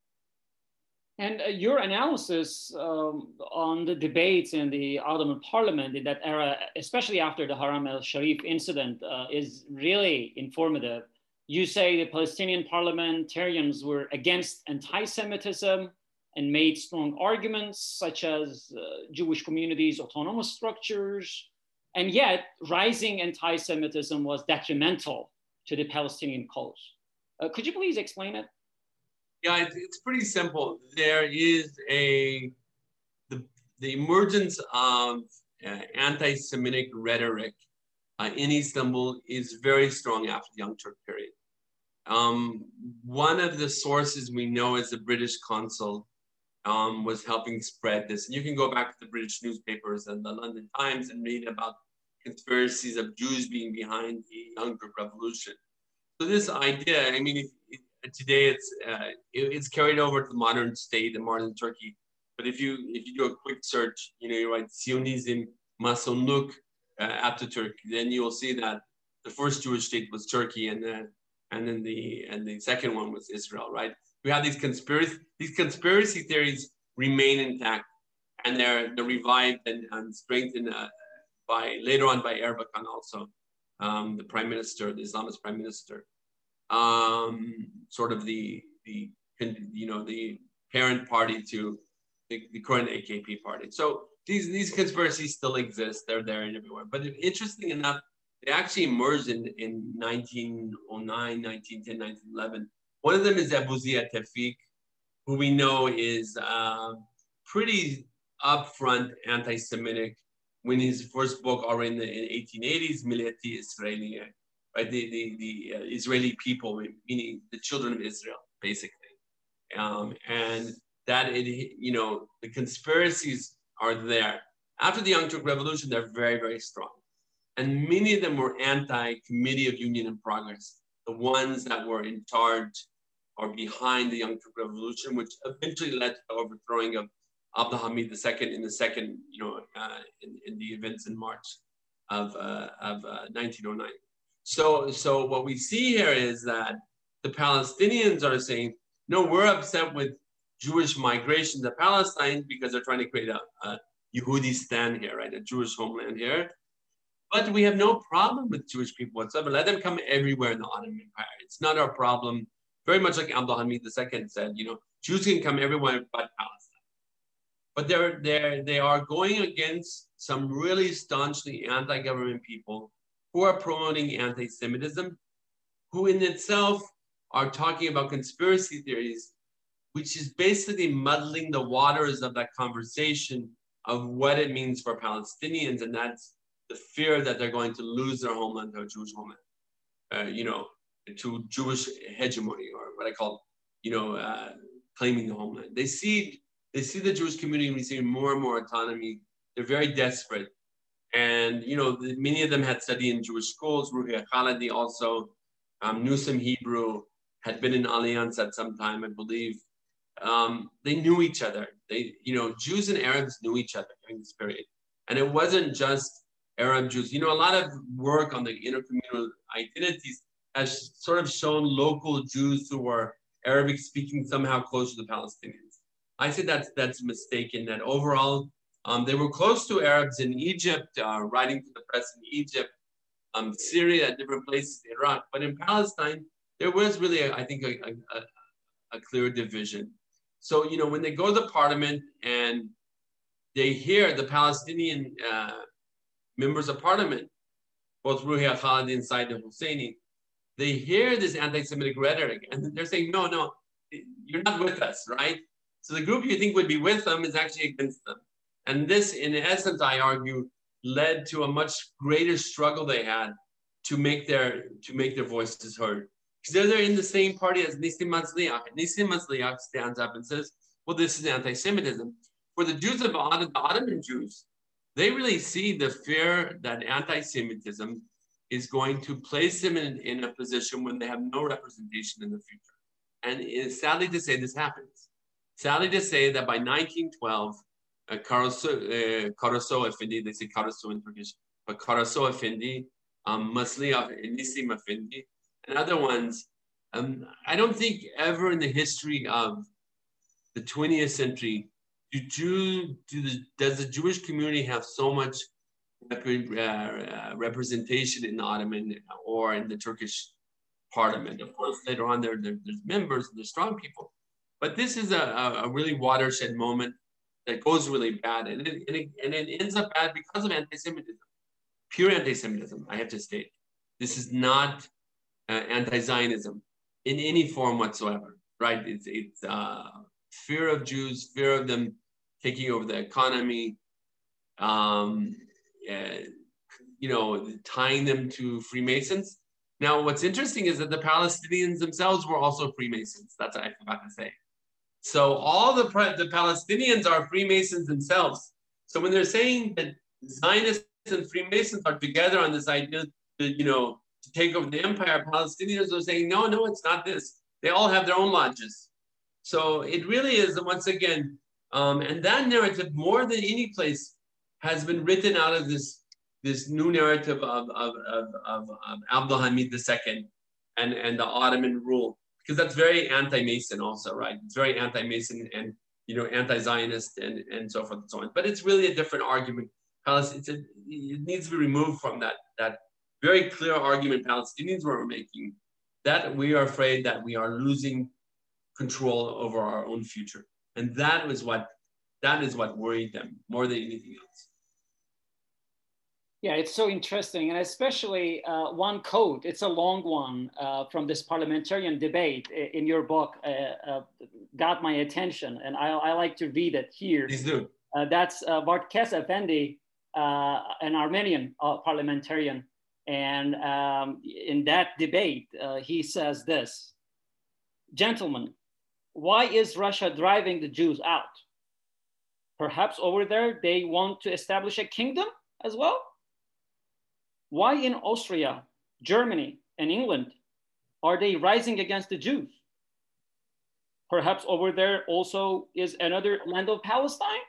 And uh, your analysis um, on the debates in the Ottoman parliament in that era, especially after the Haram al-Sharif incident, uh, is really informative. You say the Palestinian parliamentarians were against anti-Semitism and made strong arguments such as uh, Jewish communities' autonomous structures, and yet rising anti-Semitism was detrimental to the Palestinian cause. Uh, could you please explain it? Yeah, it's pretty simple. There is a, the, the emergence of uh, anti-Semitic rhetoric uh, in Istanbul is very strong after the Young Turk period. Um, one of the sources we know is the British consul um, was helping spread this. And you can go back to the British newspapers and the London Times and read about conspiracies of Jews being behind the Young Turk Revolution. So this idea, I mean, it, it, today it's uh, it, it's carried over to the modern state and modern Turkey. But if you if you do a quick search, you know, you write Zionism, Masonluk, uh, Ataturk, then you will see that the first Jewish state was Turkey, and then and then the and the second one was Israel. Right? We have these conspiracy these conspiracy theories remain intact, and they're they're revived and, and strengthened uh, by later on by Erbakan also, um, the prime minister, the Islamist prime minister. Um, sort of the, the, you know, the parent party to the, the current A K P party. So these, these conspiracies still exist. They're there and everywhere. But interesting enough, they actually emerged in, in nineteen oh nine, nineteen ten, nineteen eleven. One of them is Abu Zia Tawfiq, who we know is uh, pretty upfront anti-Semitic. When his first book, already in the in eighteen eighties, Milleti Israeli, right, the the, the uh, Israeli people, meaning the children of Israel, basically, um, and that it, you know, the conspiracies are there. After the Young Turk Revolution, they're very, very strong, and many of them were anti-Committee of Union and Progress, the ones that were in charge or behind the Young Turk Revolution, which eventually led to the overthrowing of Abdul Hamid the Second in the second, you know, uh, in, in the events in March of, uh, of uh, nineteen oh nine. So, so what we see here is that the Palestinians are saying, no, we're upset with Jewish migration to Palestine because they're trying to create a, a Yehudistan here, right, a Jewish homeland here. But we have no problem with Jewish people whatsoever. Let them come everywhere in the Ottoman Empire. It's not our problem. Very much like Abdul Hamid the Second said, you know, Jews can come everywhere but Palestine. But they're, they're, they are going against some really staunchly anti-government people who are promoting anti-Semitism, who in itself are talking about conspiracy theories, which is basically muddling the waters of that conversation of what it means for Palestinians, and that's the fear that they're going to lose their homeland to a Jewish homeland, uh, you know, to Jewish hegemony, or what I call, you know, uh, claiming the homeland. They see They see the Jewish community receiving more and more autonomy. They're very desperate. And, you know, the, many of them had studied in Jewish schools. Ruhi Khalidi also um, knew some Hebrew, had been in Alliance at some time, I believe. Um, they knew each other. They, you know, Jews and Arabs knew each other during this period. And it wasn't just Arab Jews. You know, a lot of work on the intercommunal identities has sort of shown local Jews who were Arabic speaking somehow close to the Palestinians. I say that's that's mistaken. That overall, um, they were close to Arabs in Egypt, uh, writing to the press in Egypt, um, Syria, different places, Iraq. But in Palestine, there was really, a, I think, a, a, a clear division. So, you know, when they go to the parliament and they hear the Palestinian uh, members of parliament, both Ruhi Khalidi and Said Husseini, they hear this anti-Semitic rhetoric, and they're saying, no, no, you're not with us, right? So the group you think would be with them is actually against them. And this, in essence, I argue, led to a much greater struggle they had to make their to make their voices heard. Because they're, they're in the same party as Nissim Masliach. Nissim Masliach stands up and says, well, this is anti-Semitism. For the Jews of the Ottoman Jews, they really see the fear that anti-Semitism is going to place them in, in a position when they have no representation in the future. And it's sadly to say this happens. Sadly to say that by nineteen twelve, uh, Karaso uh, Effendi, they say Karaso in Turkish, but Karaso Effendi, um, Masliach, Nissim Effendi, and other ones, um, I don't think ever in the history of the twentieth century do Jew, do the, does the Jewish community have so much rep, uh, representation in the Ottoman or in the Turkish parliament. Of course, later on there, there there's members, there's strong people. But this is a, a really watershed moment that goes really bad. And it, and, it, and it ends up bad because of anti-Semitism, pure anti-Semitism, I have to state. This is not uh, anti-Zionism in any form whatsoever, right? It's, it's uh, fear of Jews, fear of them taking over the economy, um, uh, you know, tying them to Freemasons. Now, what's interesting is that the Palestinians themselves were also Freemasons. That's what I forgot to say. So all the, the Palestinians are Freemasons themselves. So when they're saying that Zionists and Freemasons are together on this idea that, you know, to take over the empire, Palestinians are saying, no, no, it's not this. They all have their own lodges. So it really is, once again, um, and that narrative, more than any place, has been written out of this, this new narrative of, of, of, of, of Abdul Hamid the Second and, and the Ottoman rule. Because that's very anti-Mason also, right? It's very anti-Mason and, you know, anti-Zionist and, and so forth and so on. But it's really a different argument. It's a, it needs to be removed from that, that very clear argument Palestinians were making, that we are afraid that we are losing control over our own future. And that was what, that is what worried them more than anything else. Yeah, it's so interesting, and especially uh, one quote. It's a long one uh, from this parliamentarian debate in your book uh, uh, got my attention, and I, I like to read it here. Please do. Uh, that's uh, Vartkes Efendi, uh, an Armenian uh, parliamentarian, and um, in that debate, uh, he says this: "Gentlemen, why is Russia driving the Jews out? Perhaps over there they want to establish a kingdom as well? Why in Austria, Germany, and England are they rising against the Jews? Perhaps over there also is another land of Palestine,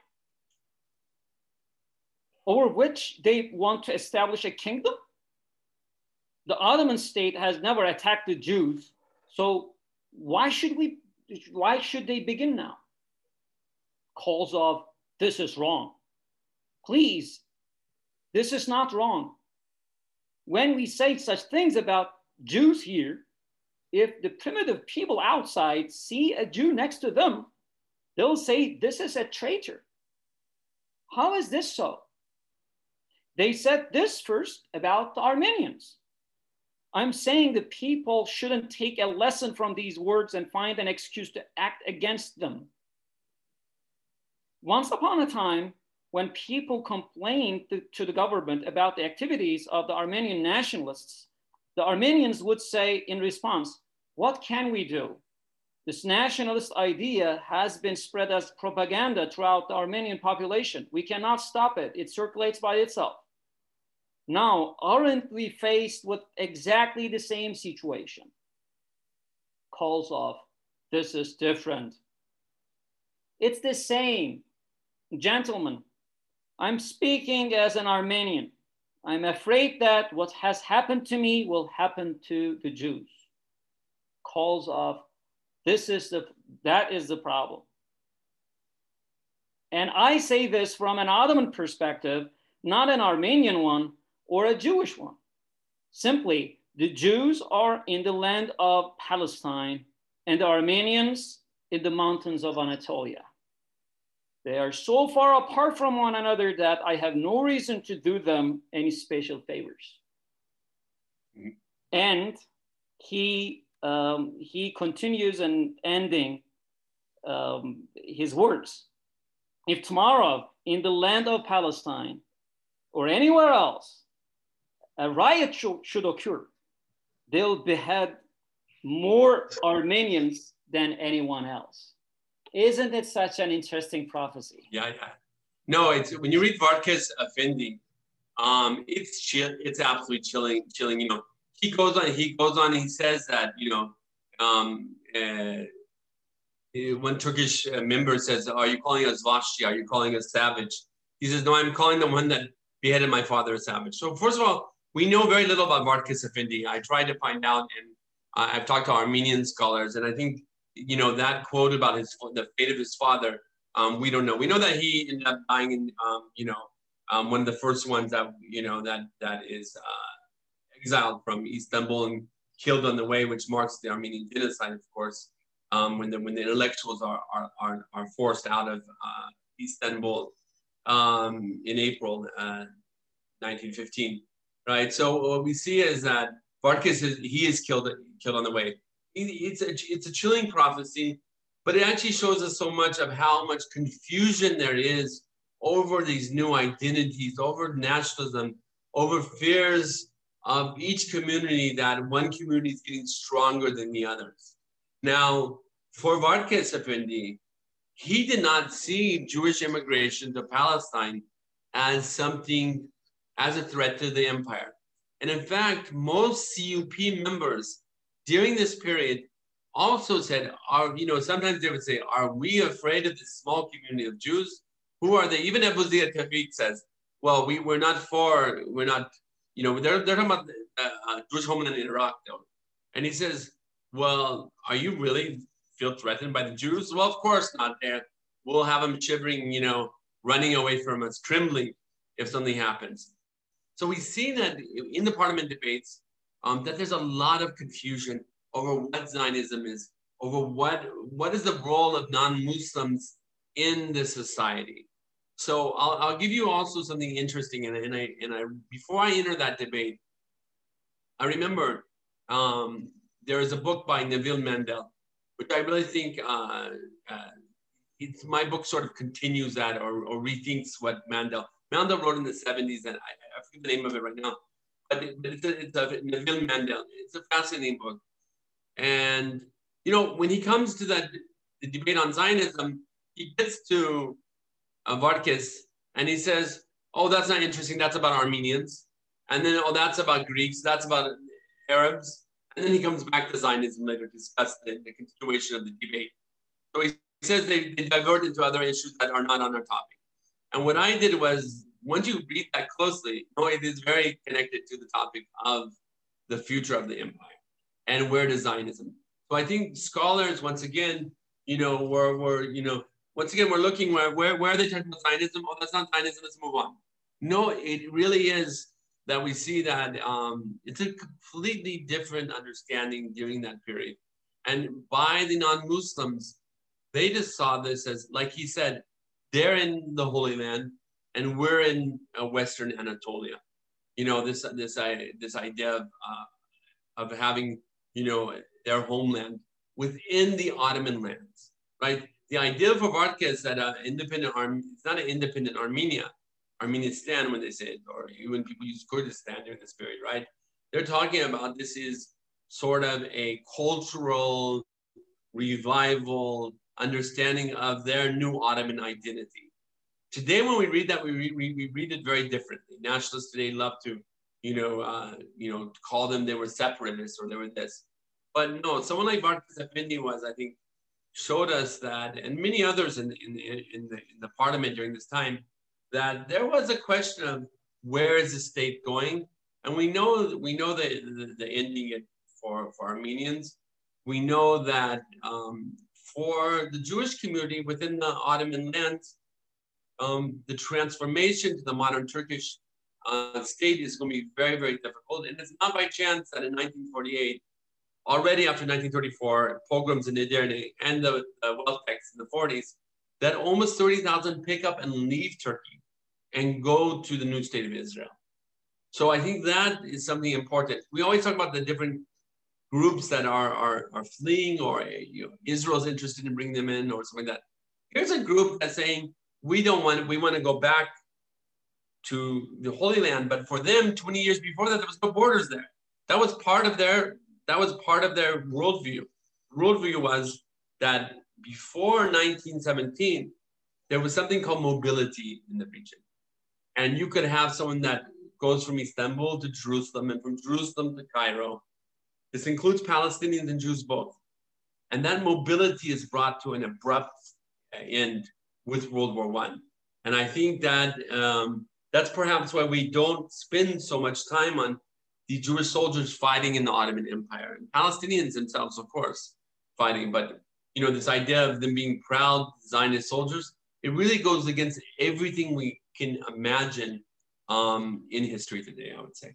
over which they want to establish a kingdom? The Ottoman state has never attacked the Jews, so why should we, why should they begin now?" Calls of, "This is wrong. Please, this is not wrong. When we say such things about Jews here, if the primitive people outside see a Jew next to them, they'll say this is a traitor. How is this so? They said this first about the Armenians. I'm saying the people shouldn't take a lesson from these words and find an excuse to act against them. Once upon a time, when people complained to, to the government about the activities of the Armenian nationalists, the Armenians would say in response, what can we do? This nationalist idea has been spread as propaganda throughout the Armenian population. We cannot stop it. It circulates by itself. Now, aren't we faced with exactly the same situation? Calls of, this is different. It's the same. Gentlemen, I'm speaking as an Armenian. I'm afraid that what has happened to me will happen to the Jews. Calls of, this is the, that is the problem. And I say this from an Ottoman perspective, not an Armenian one or a Jewish one. Simply, the Jews are in the land of Palestine and the Armenians in the mountains of Anatolia. They are so far apart from one another that I have no reason to do them any special favors. Mm-hmm. And he, um, he continues and ending um, his words. If tomorrow in the land of Palestine or anywhere else, a riot sh- should occur, they'll behead more Armenians than anyone else. Isn't it such an interesting prophecy? Yeah, yeah. No, it's when you read Vartkes Efendi, um, it's chill. It's absolutely chilling. Chilling. You know, he goes on. He goes on. He says that you know, um, uh, when Turkish member says, "Are you calling us Vashti? Are you calling us savage?" He says, "No, I'm calling the one that beheaded my father a savage." So first of all, we know very little about Vartkes Efendi. I tried to find out, and uh, I've talked to Armenian scholars, and I think. You know, that quote about his the fate of his father, um, we don't know. We know that he ended up dying in, um, you know, um, one of the first ones that, you know, that that is uh, exiled from Istanbul and killed on the way, which marks the Armenian genocide, of course, um, when the when the intellectuals are are are, are forced out of uh, Istanbul um, in April uh, nineteen fifteen, right? So what we see is that Vartkes is he is killed killed on the way. It's a, it's a chilling prophecy, but it actually shows us so much of how much confusion there is over these new identities, over nationalism, over fears of each community, that one community is getting stronger than the others. Now, for Vartkes Efendi, he did not see Jewish immigration to Palestine as something, as a threat to the empire. And in fact, most C U P members during this period also said, are, you know, sometimes they would say, are we afraid of this small community of Jews? Who are they? Even Abu Ziyad Tawfiq says, well, we, we're not for, we're not, you know, they're, they're talking about uh, uh, Jewish homeland in Iraq, though. And he says, well, are you really feel threatened by the Jews? Well, of course not. There, we'll have them shivering, you know, running away from us, trembling if something happens. So we see that in the parliament debates, Um, that there's a lot of confusion over what Zionism is, over what what is the role of non-Muslims in the society. So I'll, I'll give you also something interesting. And, and I, and I, before I enter that debate, I remember um, there is a book by Neville Mandel, which I really think uh, uh, it's my book sort of continues that or, or rethinks what Mandel Mandel wrote in the seventies, and I, I forget the name of it right now, but, it, but it's, a, it's a Neville Mandel. It's a fascinating book, and you know when he comes to that the debate on Zionism, he gets to uh, Varkes and he says, "Oh, that's not interesting. That's about Armenians," and then, "Oh, that's about Greeks. That's about Arabs," and then he comes back to Zionism later to discuss the, the continuation of the debate. So he says they, they divert into other issues that are not on our topic. And what I did was, once you read that closely, you know, it is very connected to the topic of the future of the empire and where does Zionism. So I think scholars, once again, you know, we're, we're you know, once again, we're looking where, where, where are they talking about Zionism? Oh, that's not Zionism, let's move on. No, it really is that we see that um, it's a completely different understanding during that period. And by the non-Muslims, they just saw this as, like he said, they're in the Holy Land and we're in uh, Western Anatolia. You know, this this uh, this idea of uh, of having, you know, their homeland within the Ottoman lands, right? The idea for Varkes that uh, independent Arm it's not an independent Armenia, Armenistan when they say it, or even people use Kurdistan during this period, right? They're talking about this is sort of a cultural revival, understanding of their new Ottoman identity. Today, when we read that, we, re- we, we read it very differently. Nationalists today love to, you know, uh, you know, call them they were separatists or they were this. But no, someone like Varkes Effendi was, I think, showed us that, and many others in, in, in, the, in the parliament during this time, that there was a question of where is the state going? And we know we know the, the, the ending it for, for Armenians. We know that um, for the Jewish community within the Ottoman lands, um, the transformation to the modern Turkish uh, state is going to be very, very difficult. And it's not by chance that in nineteen forty-eight, already after nineteen thirty-four, pogroms in Edirne and the, the wealth tax in the forties, that almost thirty thousand pick up and leave Turkey and go to the new state of Israel. So I think that is something important. We always talk about the different groups that are, are, are fleeing, or you know, Israel's interested in bringing them in or something like that. Here's a group that's saying, we don't want, we want to go back to the Holy Land, but for them, twenty years before that, there was no borders there. That was part of their, that was part of their worldview. Worldview was that before nineteen seventeen, there was something called mobility in the region. And you could have someone that goes from Istanbul to Jerusalem and from Jerusalem to Cairo. This includes Palestinians and Jews both. And that mobility is brought to an abrupt end with World War One. And I think that um, that's perhaps why we don't spend so much time on the Jewish soldiers fighting in the Ottoman Empire. And Palestinians themselves, of course, fighting. But, you know, this idea of them being proud Zionist soldiers, it really goes against everything we can imagine um, in history today, I would say.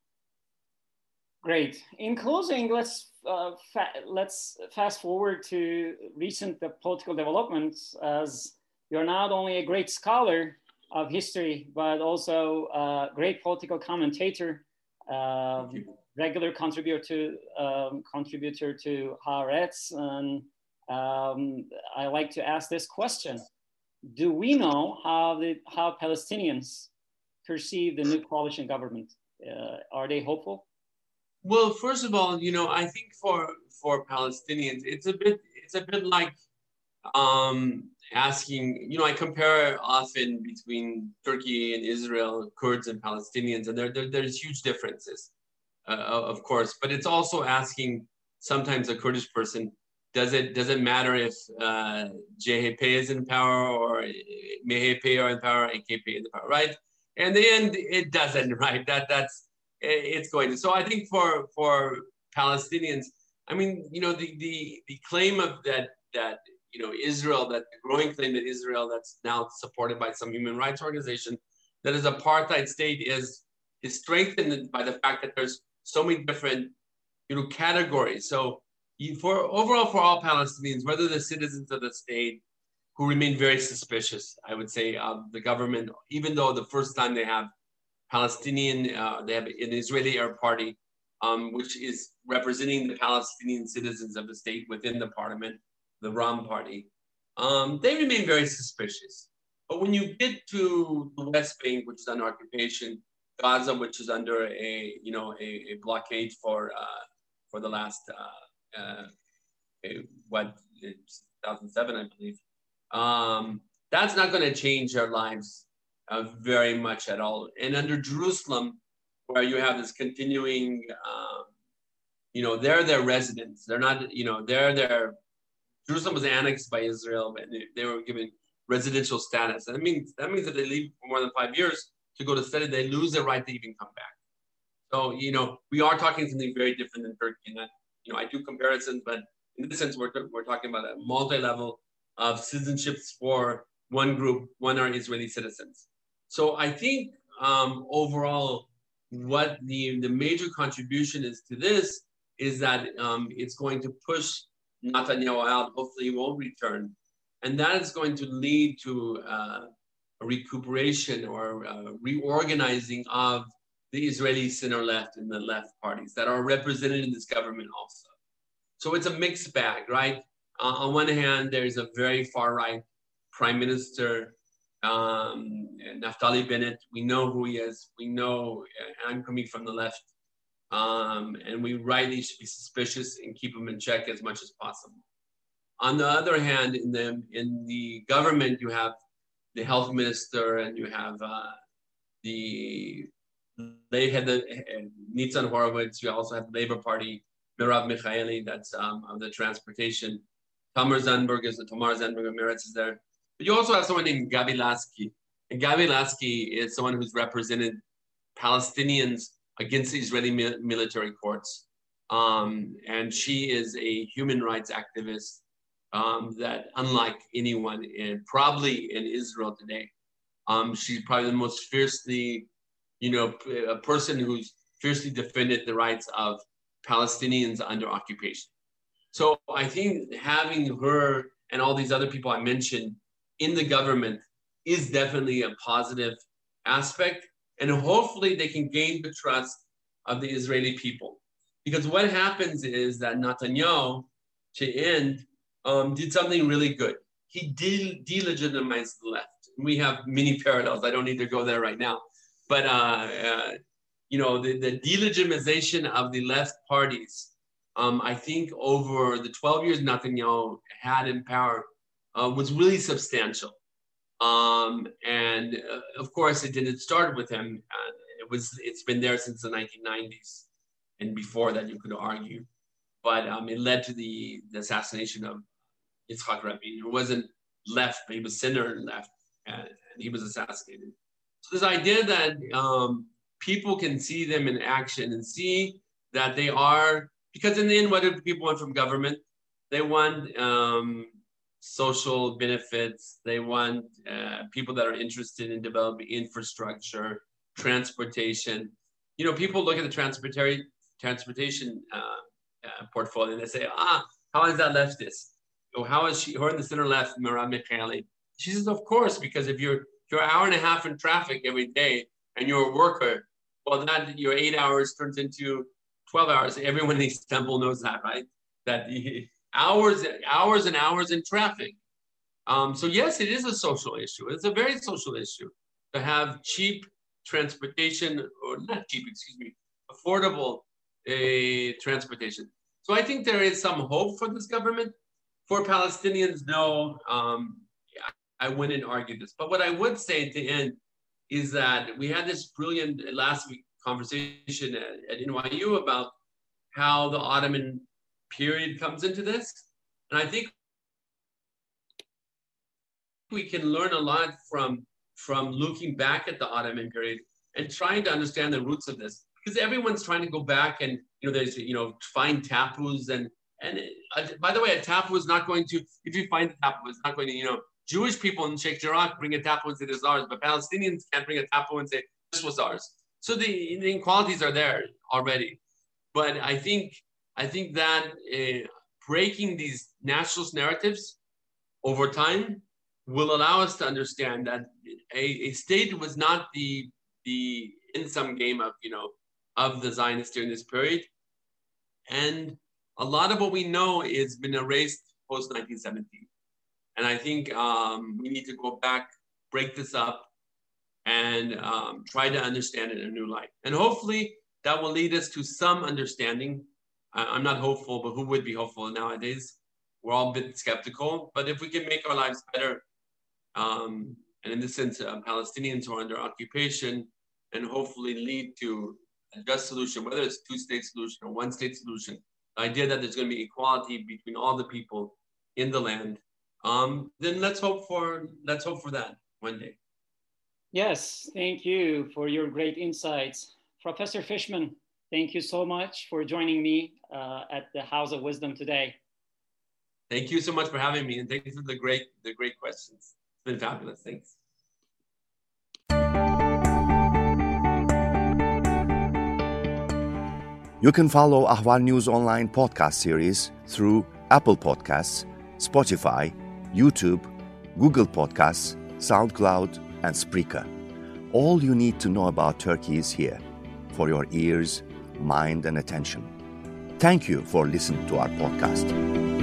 Great. In closing, let's uh, fa let's fast forward to recent uh, political developments, as you're not only a great scholar of history, but also a great political commentator, uh, regular contributor to um, contributor to Haaretz, and um, I like to ask this question: do we know how the how Palestinians perceive the new coalition government? Uh, are they hopeful? Well, first of all, you know, I think for for Palestinians, it's a bit it's a bit like um, asking. You know, I compare often between Turkey and Israel, Kurds and Palestinians, and there, there there's huge differences, uh, of course. But it's also asking sometimes a Kurdish person, does it does it matter if uh, J H P is in power or M H P are in power, A K P is in power, right? And in the end, it doesn't, right? That that's it's going to. So I think for for Palestinians, I mean, you know, the the the claim of that that you know Israel, that the growing claim that Israel, that's now supported by some human rights organization, that is apartheid state is is strengthened by the fact that there's so many different you know categories. So you, for overall for all Palestinians, whether they're citizens of the state, who remain very suspicious, I would say, of the government, even though the first time they have Palestinian, uh, they have an Israeli Arab Party, um, which is representing the Palestinian citizens of the state within the parliament, the Ram Party. Um, they remain very suspicious. But when you get to the West Bank, which is under occupation, Gaza, which is under a you know a, a blockade for uh, for the last uh, uh, a, what two thousand seven, I believe, um, that's not going to change their lives uh, very much at all. And under Jerusalem, where you have this continuing, um, you know, they're their residents. They're not, you know, they're their. Jerusalem was annexed by Israel, and they, they were given residential status. And that means that means that they leave for more than five years to go to study, they lose their right to even come back. So, you know, we are talking something very different than Turkey. And that, you know, I do comparisons, but in this sense, we're, we're talking about a multi-level of citizenships for one group, one are Israeli citizens. So I think um, overall, what the, the major contribution is to this is that um, it's going to push Netanyahu out. Hopefully he won't return. And that is going to lead to uh, a recuperation or uh, reorganizing of the Israeli center left and the left parties that are represented in this government also. So it's a mixed bag, right? Uh, on one hand, there's a very far right prime minister, um, Naftali Bennett. We know who he is. We know, uh, I'm coming from the left. Um, and we rightly should be suspicious and keep him in check as much as possible. On the other hand, in the, in the government, you have the health minister and you have uh, the, they had the uh, Nitzan Horowitz. You also have the Labor Party, Merav Michaeli, that's um, of the transportation. Tamar Zandberg is the Tamar Zandberg of Meretz is there. But you also have someone named Gabi Lasky. And Gabi Lasky is someone who's represented Palestinians against the Israeli mi- military courts. Um, and she is a human rights activist um, that, unlike anyone in, probably in Israel today, um, she's probably the most fiercely, you know, a person who's fiercely defended the rights of Palestinians under occupation. So I think having her and all these other people I mentioned in the government is definitely a positive aspect. And hopefully they can gain the trust of the Israeli people. Because what happens is that Netanyahu, to end, um, did something really good. He de- delegitimized the left. We have many parallels. I don't need to go there right now. But, uh, uh, you know, the, the delegitimization of the left parties, um, I think over the twelve years Netanyahu had in power uh, was really substantial. Um, and uh, of course, it didn't start with him. Uh, it was, it's been there since the nineteen nineties. And before that, you could argue. But um, it led to the, the assassination of Yitzhak Rabin, who wasn't left, but he was center and left, and, and he was assassinated. So this idea that um, people can see them in action and see that they are, because in the end, what do people want from government? They want um, social benefits. They want uh, people that are interested in developing infrastructure, transportation. You know, people look at the transportation transportation uh, uh, portfolio and they say, ah, how is that leftist? Or how is she, her in the center left, Merav Michaeli? She says, of course, because if you're, if you're an hour and a half in traffic every day and you're a worker, well, that your eight hours turns into twelve hours. Everyone in Istanbul knows that, right? That the hours, hours and hours in traffic. Um, so yes, it is a social issue. It's a very social issue to have cheap transportation, or not cheap, excuse me, affordable uh, transportation. So I think there is some hope for this government. For Palestinians, no, um, I wouldn't argue this. But what I would say at the end is that we had this brilliant last week conversation at, at N Y U about how the Ottoman period comes into this. And I think we can learn a lot from, from looking back at the Ottoman period and trying to understand the roots of this. Because everyone's trying to go back and, you know, there's, you know, find tapus. And, and uh, by the way, a tapu is not going to, if you find a tapu, it's not going to, you know, Jewish people in Sheikh Jarrah bring a tapu and say this is ours, but Palestinians can't bring a tapu and say this was ours. So the, the inequalities are there already. But I think, I think that uh, breaking these nationalist narratives over time will allow us to understand that a, a state was not the the in-sum game of, you know, of the Zionists during this period. And a lot of what we know has been erased post nineteen seventeen. And I think um, we need to go back, break this up, and um, try to understand it in a new light. And hopefully that will lead us to some understanding. I, I'm not hopeful, but who would be hopeful nowadays? We're all a bit skeptical. But if we can make our lives better, um, and in this sense, uh, Palestinians who are under occupation, and hopefully lead to a just solution, whether it's a two-state solution or one-state solution, the idea that there's going to be equality between all the people in the land, um, then let's hope for let's hope for that one day. Yes, thank you for your great insights. Professor Fishman, thank you so much for joining me uh, at the House of Wisdom today. Thank you so much for having me, and thank you for the great the great questions. It's been fabulous. Thanks. You can follow Ahval News Online podcast series through Apple Podcasts, Spotify, YouTube, Google Podcasts, SoundCloud, and Spreaker. All you need to know about Turkey is here, for your ears, mind, and attention. Thank you for listening to our podcast.